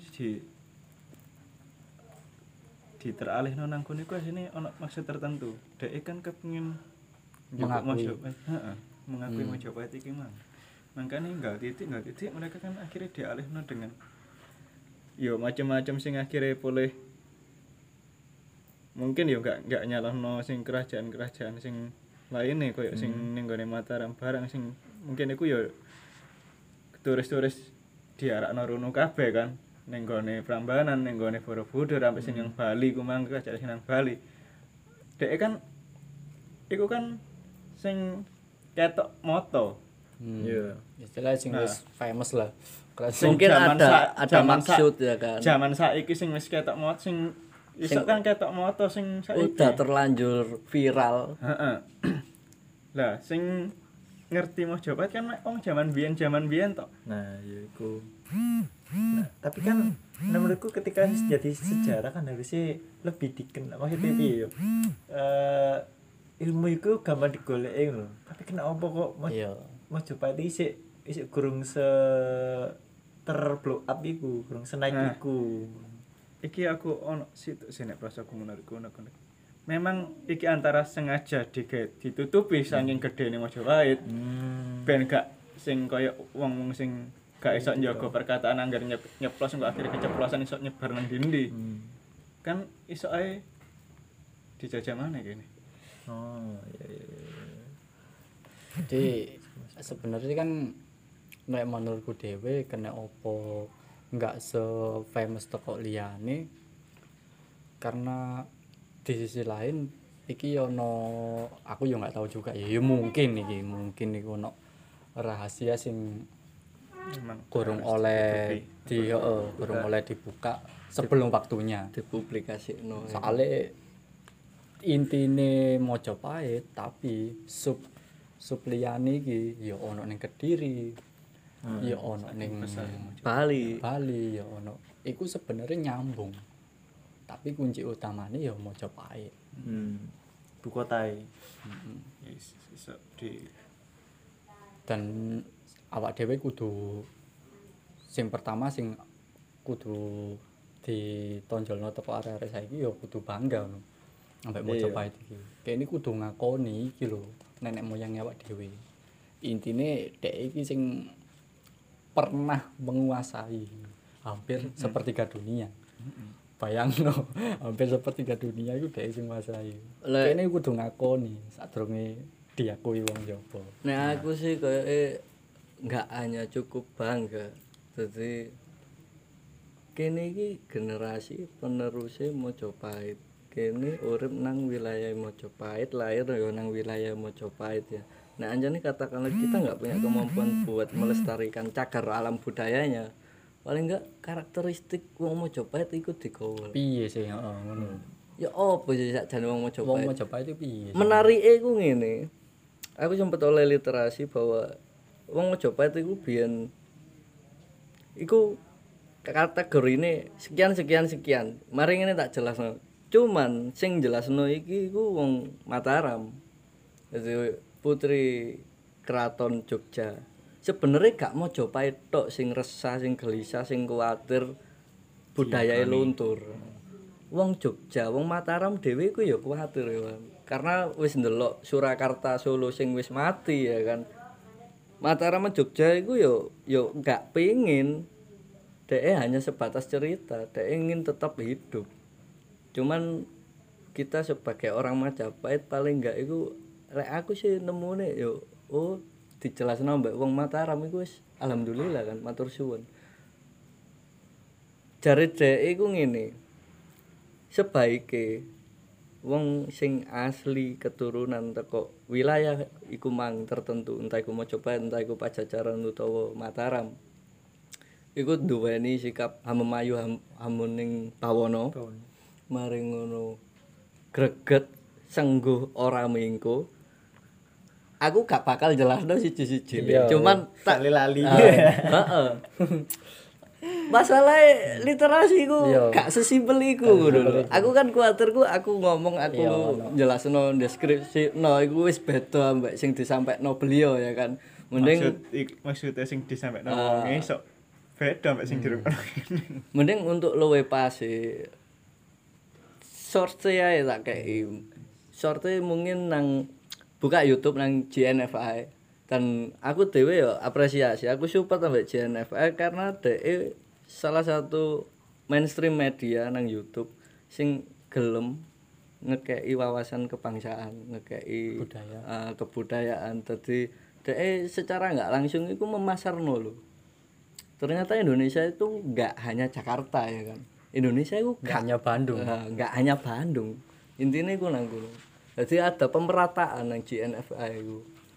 diteralihno nang kono iku asine ana maksud tertentu. Dhek kan kepengin Mengakui. mengakui Majapahit iki mang. Makanya enggak titik mereka kan akhirnya dialihno dengan yo macam-macam sing akhirnya boleh mungkin yo enggak nyalahno sing kerajaan-kerajaan sing lainnya koyo sing ning gone Mataram barang sing mungkin iku yo turis-turis diarakno rono kabeh kan ning gone Prambanan ning gone Borobudur sampai sing yang Bali ku mang kerajaan sing nang Bali. Dek kan iku kan sing ketok moto. Iya. Istilah sing wis famous lah. Mungkin ada maksud ya kan. Zaman saiki sing wis ketok moto sing iso kan ketok moto sing saiki. Udah terlanjur viral. Heeh. Lah sing ngerti Majapahit kan wong zaman biyen tok. Nah, ya iku. Nah, tapi kan menurutku ketika jadi sejarah kan harusnya lebih dikenal. Maksudnya piye yo? Ilmu iku gampang digoleki lho. Tapi kenapa kok Majapahit isik gurung terblow up iku, gurung senaik iku. Iki aku ono situ sini prasaku menurutku memang iki antara sengaja ditutupi saking gedene Majapahit. Ben gak sing kaya wong-wong sing gak iso njaga perkataan anggar nyeplos kok akhirnya keceplosan iso nyebar nang dindi. Kan iso ae dijajah maneh kene. Oh, iya. Jadi sebenarnya kan nek menurutku dhewe kena opo enggak se-famous toko liyane karena di sisi lain iki ono aku yo enggak tahu juga ya mungkin iki ono rahasia sing kurang oleh dibuka sebelum waktunya Dipublikasikno. soalnya intine Majapahit tapi sub liyane iki ya ono ning Kediri ya ono ning Bali ya ono iku sebenarnya nyambung tapi kunci utamanya ya Majapahit Ibu kotae. Iso di dan awak dhewe kudu sing pertama sing kudu ditonjolno teko arek-arek saiki ya kudu bangga ngono ambek Majapahit iki. Kene kudu ngakoni iki lho nenek moyang awak dhewe. Intine dhek iki sing pernah menguasai hampir sepertiga dunia. Bayangno, hampir sepertiga dunia iku dhek sing nguasai. Kene kudu ngakoni sadurunge diakui wong jaba. Nek aku sih koyoke enggak hanya cukup bangga. Jadi kene iki generasi penerusé Majapahit. Kene urip nang wilayah Majapahit, lahir ya nang wilayah Majapahit ya. Nah anjane katakanlah kita nggak punya kemampuan buat melestarikan cagar alam budayanya, paling enggak karakteristik wong Majapahit iku digawa. Piye sih heeh ngono. Ya opo sih sakjane wong Majapahit? Wong Majapahit itu piye? Menarike ku ngene. Aku sempat oleh literasi bahwa wong Majapahit iku biyen iku kategorine sekian. Mari ngene tak jelasno. Cuman sing jelasno iki iku wong Mataram. Dadi putri Keraton Jogja. Sebenarnya gak Mojopahit tok sing resah, sing gelisah, sing kuwatir budayae luntur. Wong Jogja, wong Mataram dhewe iku ya kuwatir ya. Karena wis ndelok Surakarta Solo sing wis mati ya kan. Mataram Jogja iku yo gak pengin dhek hanya sebatas cerita, dhek ingin tetap hidup. Cuman kita sebagai orang Majapahit paling enggak iku lek aku sih nemune yo dijelasno mbek wong Mataram iku wis alhamdulillah kan matur suwun. Jare dhek iku ngene. Sebaike wong sing asli keturunan teko wilayah iku mang tertentu, entah iku Mojopahit, entah iku Pajajaran utawa Mataram. Iku duweni sikap hamemayu hamuning bawana. Maring ngono greget sengguh ora mingko. Aku gak bakal jelasno siji-siji. Cuman tak lali. Heeh. Masalah literasi ku gak sesimpel iku ngono lho. Aku kan kuwatirku aku ngomong aku jelasno deskripsi iku wis beda mbek sing disampaikno beliau ya kan. Mending maksudnya sing disampaikno wong esuk beda mbek sing dirungokno kene. Mending untuk luwe pas source ae tak kei. Source mungkin nang buka YouTube nang GNFI. Dan aku dhewe ya apresiasi, aku support ambek GNFI karena dhek salah satu mainstream media nang YouTube sing gelem ngekei wawasan kebangsaan, ngekei kebudayaan. Dadi dhek secara enggak langsung iku memasarno lho. Ternyata Indonesia itu enggak hanya Jakarta ya kan. Indonesia itu Gak hanya Bandung. Enggak hanya Bandung. Intinya iku nang kono. Jadi ada pemerataan nang GNFI iku.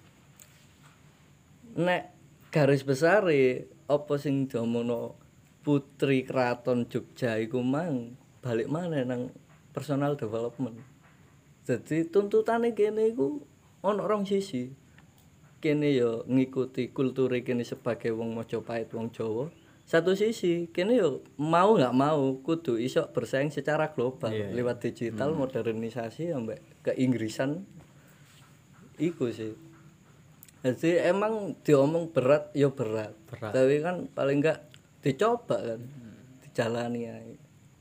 Nek garis besar apa sing diomongno Putri Keraton Jogja iku mang balik maneh nang personal development. Jadi tuntutane kene iku ana rong sisi. Kene ya ngikuti kulture kene sebagai wong Majapahit, wong Jawa. Satu sisi kene ya mau nggak mau kudu iso bersaing secara global lewat digital, modernisasi ambek keinggrisan iku sih. Jadi emang diomong berat ya berat. Tapi kan paling enggak dicoba kan. Dijalani ae.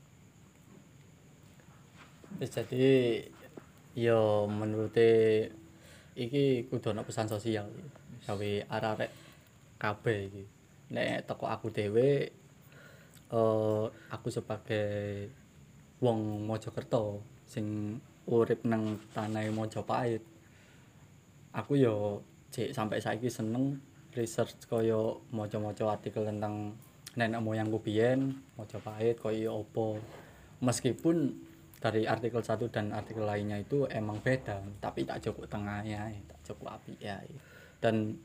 Jadi yo menurute iki kudu ana pesan sosial gawe arek-arek kabeh iki. Nek teko aku dhewe aku sebagai wong Mojokerto sing urip nang tanah Mojopahit. Aku yo cek sampai saiki seneng research kaya maca-maca artikel tentang nenek moyangku biyen Mojopahit kaya opo. Meskipun dari artikel satu dan artikel lainnya itu emang beda, tapi tak cukup tengahnya, tak cukup apik ya. Dan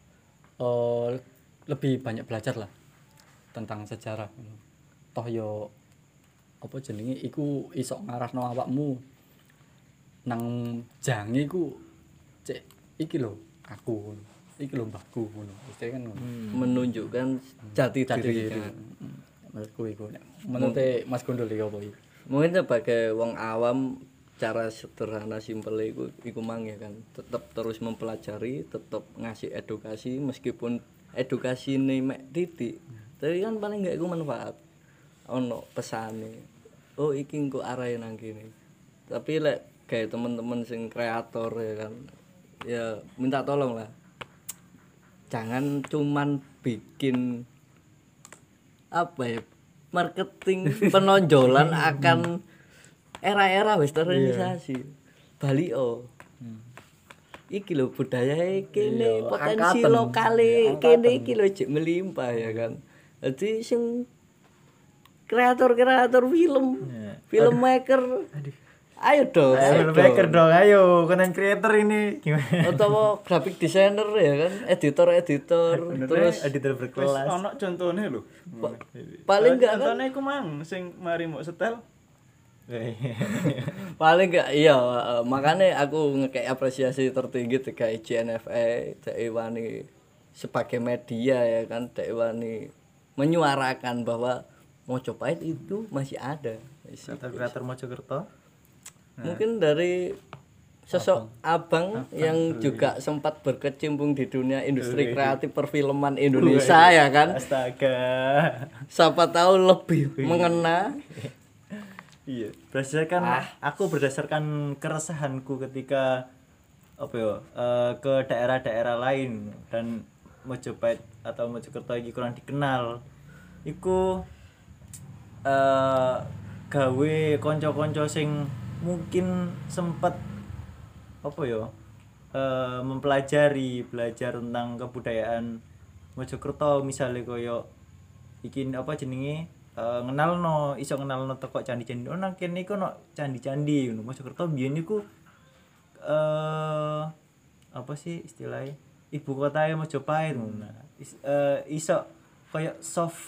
lebih banyak belajar lah tentang sejarah. Toh yo apa jenenge iku iso ngarahno awakmu nang jange iku cek iki lho aku iki lho mbahku ngono. Istilahnya kan ngono. Menunjukkan jati diri. Menurutku iku menurut Mas Gondol iki apa iki? Mungkin sebagai wong awam cara sederhana simpel iku mang ya kan. Tetap terus mempelajari, tetap ngasih edukasi meskipun edukasine mek titik. Tapi kan paling enggak iku manfaat. Ono pesane. Oh iki engko arahe nang kene. Tapi lek kayak teman-teman sing kreator ya kan. Ya minta tolong lah. Jangan cuman bikin apa ya marketing penonjolan akan era-era westernisasi. Bali iki lho budaya kene potensi lokale kene iki lho jek melimpah ya kan. Dadi sing kreator-kreator filmmaker ayo dong. Filmmaker dong, ayo konten creator ini gimana? Atau graphic designer ya kan, editor terus editor berkelas. Ono contone lho. Paling enggak kan contone iku mang sing mari mbok setel. paling enggak iya makanya aku ngekek apresiasi tertinggi ke GNFI Dek Wani sebagai media ya kan Dek Wani menyuarakan bahwa Mojopahit itu masih ada kreator Mojokerto. Mungkin dari sosok abang yang juga sempat berkecimpung di dunia industri kreatif perfilman Indonesia ya kan. Astaga. Siapa tahu lebih mengena. Iya, berdasarkan keresahanku ketika ke daerah-daerah lain dan Mojopahit atau Mojokerto iki kurang dikenal. Iku gawe kanca-kanca sing mungkin sempat belajar tentang kebudayaan Mojokerto, misalnya koyo iki iso ngenalno teko candi-candi. Nang kene iku ono candi-candi ngono. Mojokerto biyen niku istilahnya ibu kota Mojopahit ngono. Iso koyo soft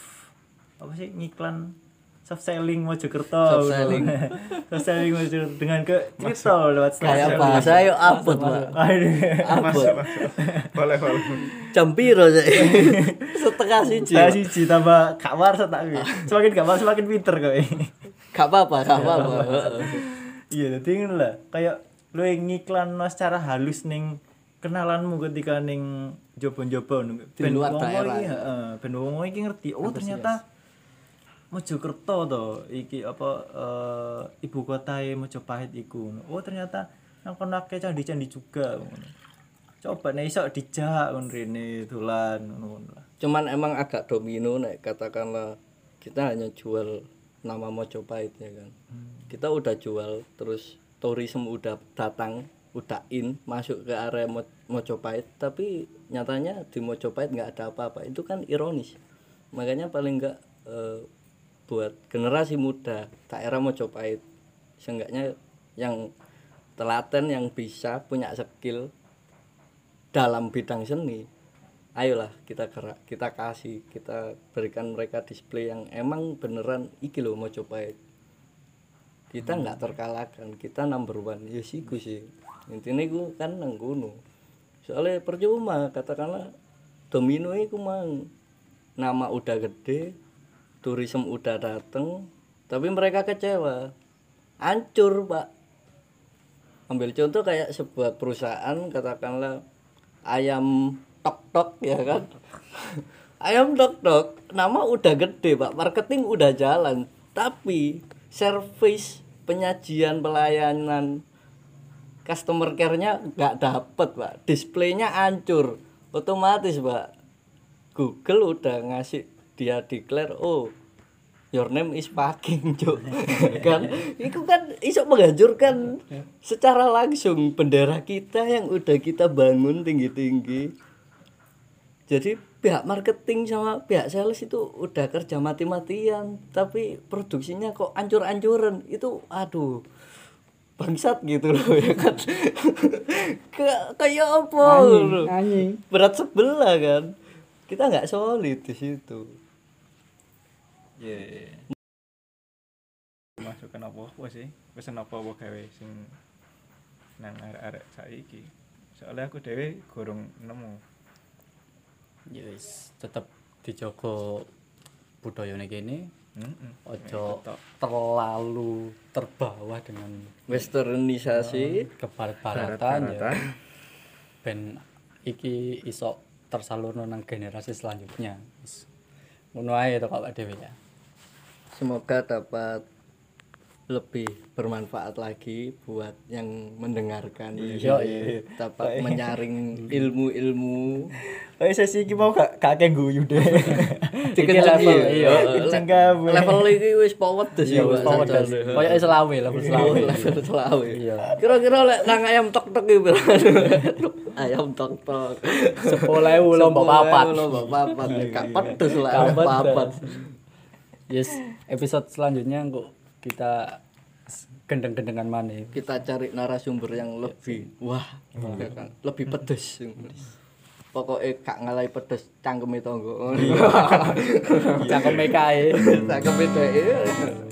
selling Mojokerto. Soft selling. Soft selling Mojokerto dengan cerita lewat Kayak bahasa yo abot, Pak. Abot. Boleh. Jam piro sih? Setengah siji. Setengah siji tambah gak warsa tak kuwi. Semakin gak warsa semakin pinter kowe. Gak apa-apa. Iya, dadi ngono lah. Kayak lu ngiklanno secara halus ning kenalanmu ketika ning jobo-jobo Di luar daerah. Ben wong iki ngerti, oh ternyata Mojokerto to iki ibu kotae Mojopahit iku. Oh ternyata nang kono akeh candi-candi juga ngono. Coba nek iso dijak ngono rene dolan ngono lah. Cuman emang agak domino nek katakanlah kita hanya jual nama Mojopahit ya kan. Kita udah jual, terus tourism udah datang, udah masuk ke area Mojopahit, tapi nyatanya di Mojopahit nggak ada apa-apa. Itu kan ironis. Makanya paling nggak buat generasi muda daerah Mojopahit, seenggaknya yang telaten, yang bisa punya skill dalam bidang seni, ayolah kita gerak, kita kasih, kita berikan mereka display yang emang beneran iki loh Mojopahit. Kita nggak terkalahkan, kita number one. Ya siku sih intinya gue kan nang gunung. Soalnya percuma katakanlah domino itu mang nama udah gede, turisme udah dateng, tapi mereka kecewa, hancur Pak. Ambil contoh kayak sebuah perusahaan katakanlah ayam tok-tok ya kan. Ayam tok-tok nama udah gede Pak, marketing udah jalan, tapi service, penyajian, pelayanan, customer care-nya nggak dapet Pak, displaynya hancur, otomatis Pak Google udah ngasih dia declare, oh your name is fucking Cuk. Kan itu kan iso menghancurkan secara langsung bendera kita yang udah kita bangun tinggi-tinggi. Jadi pihak marketing sama pihak sales itu udah kerja mati-matian, tapi produksinya kok ancur-ancuran. Itu aduh, bangsat gitu loh ya kan. Kayak apa Anjing. berat sebelah kan, kita nggak solid di situ. Masukan apa sih? Pesen apa gawe sing nang arek-arek saiki. Soalnya aku dhewe gorong nemu. Ya wis tetep dijogo budayane kene. Ojo terlalu terbawa dengan Westernisasi, kebarat-baratan ya. Ben iki iso tersalurno nang generasi selanjutnya. Wis ngono ae to Pak Dewi ya. semoga dapat lebih bermanfaat lagi buat yang mendengarkan. Dapat menyaring ilmu-ilmu. Sesi iki mau gak akeh guyu deh. Iki level iya. Level iki wis pedes ya. Kayak selawe level selawe. Level selawe. Iya. Kira-kira lek nang ayam tok-tok iki ayam tok-tok 10.000 lomba papat. Lomba papat. Gak pedes lah ayam papat. Yes, episode selanjutnya kok kita gendeng-gendengan mana? Kita cari narasumber yang lebih ya kan? Lebih pedes. Pokoknya gak ngalai pedes cangkeme tonggo. Cangkeme kae. Cangkeme dhek.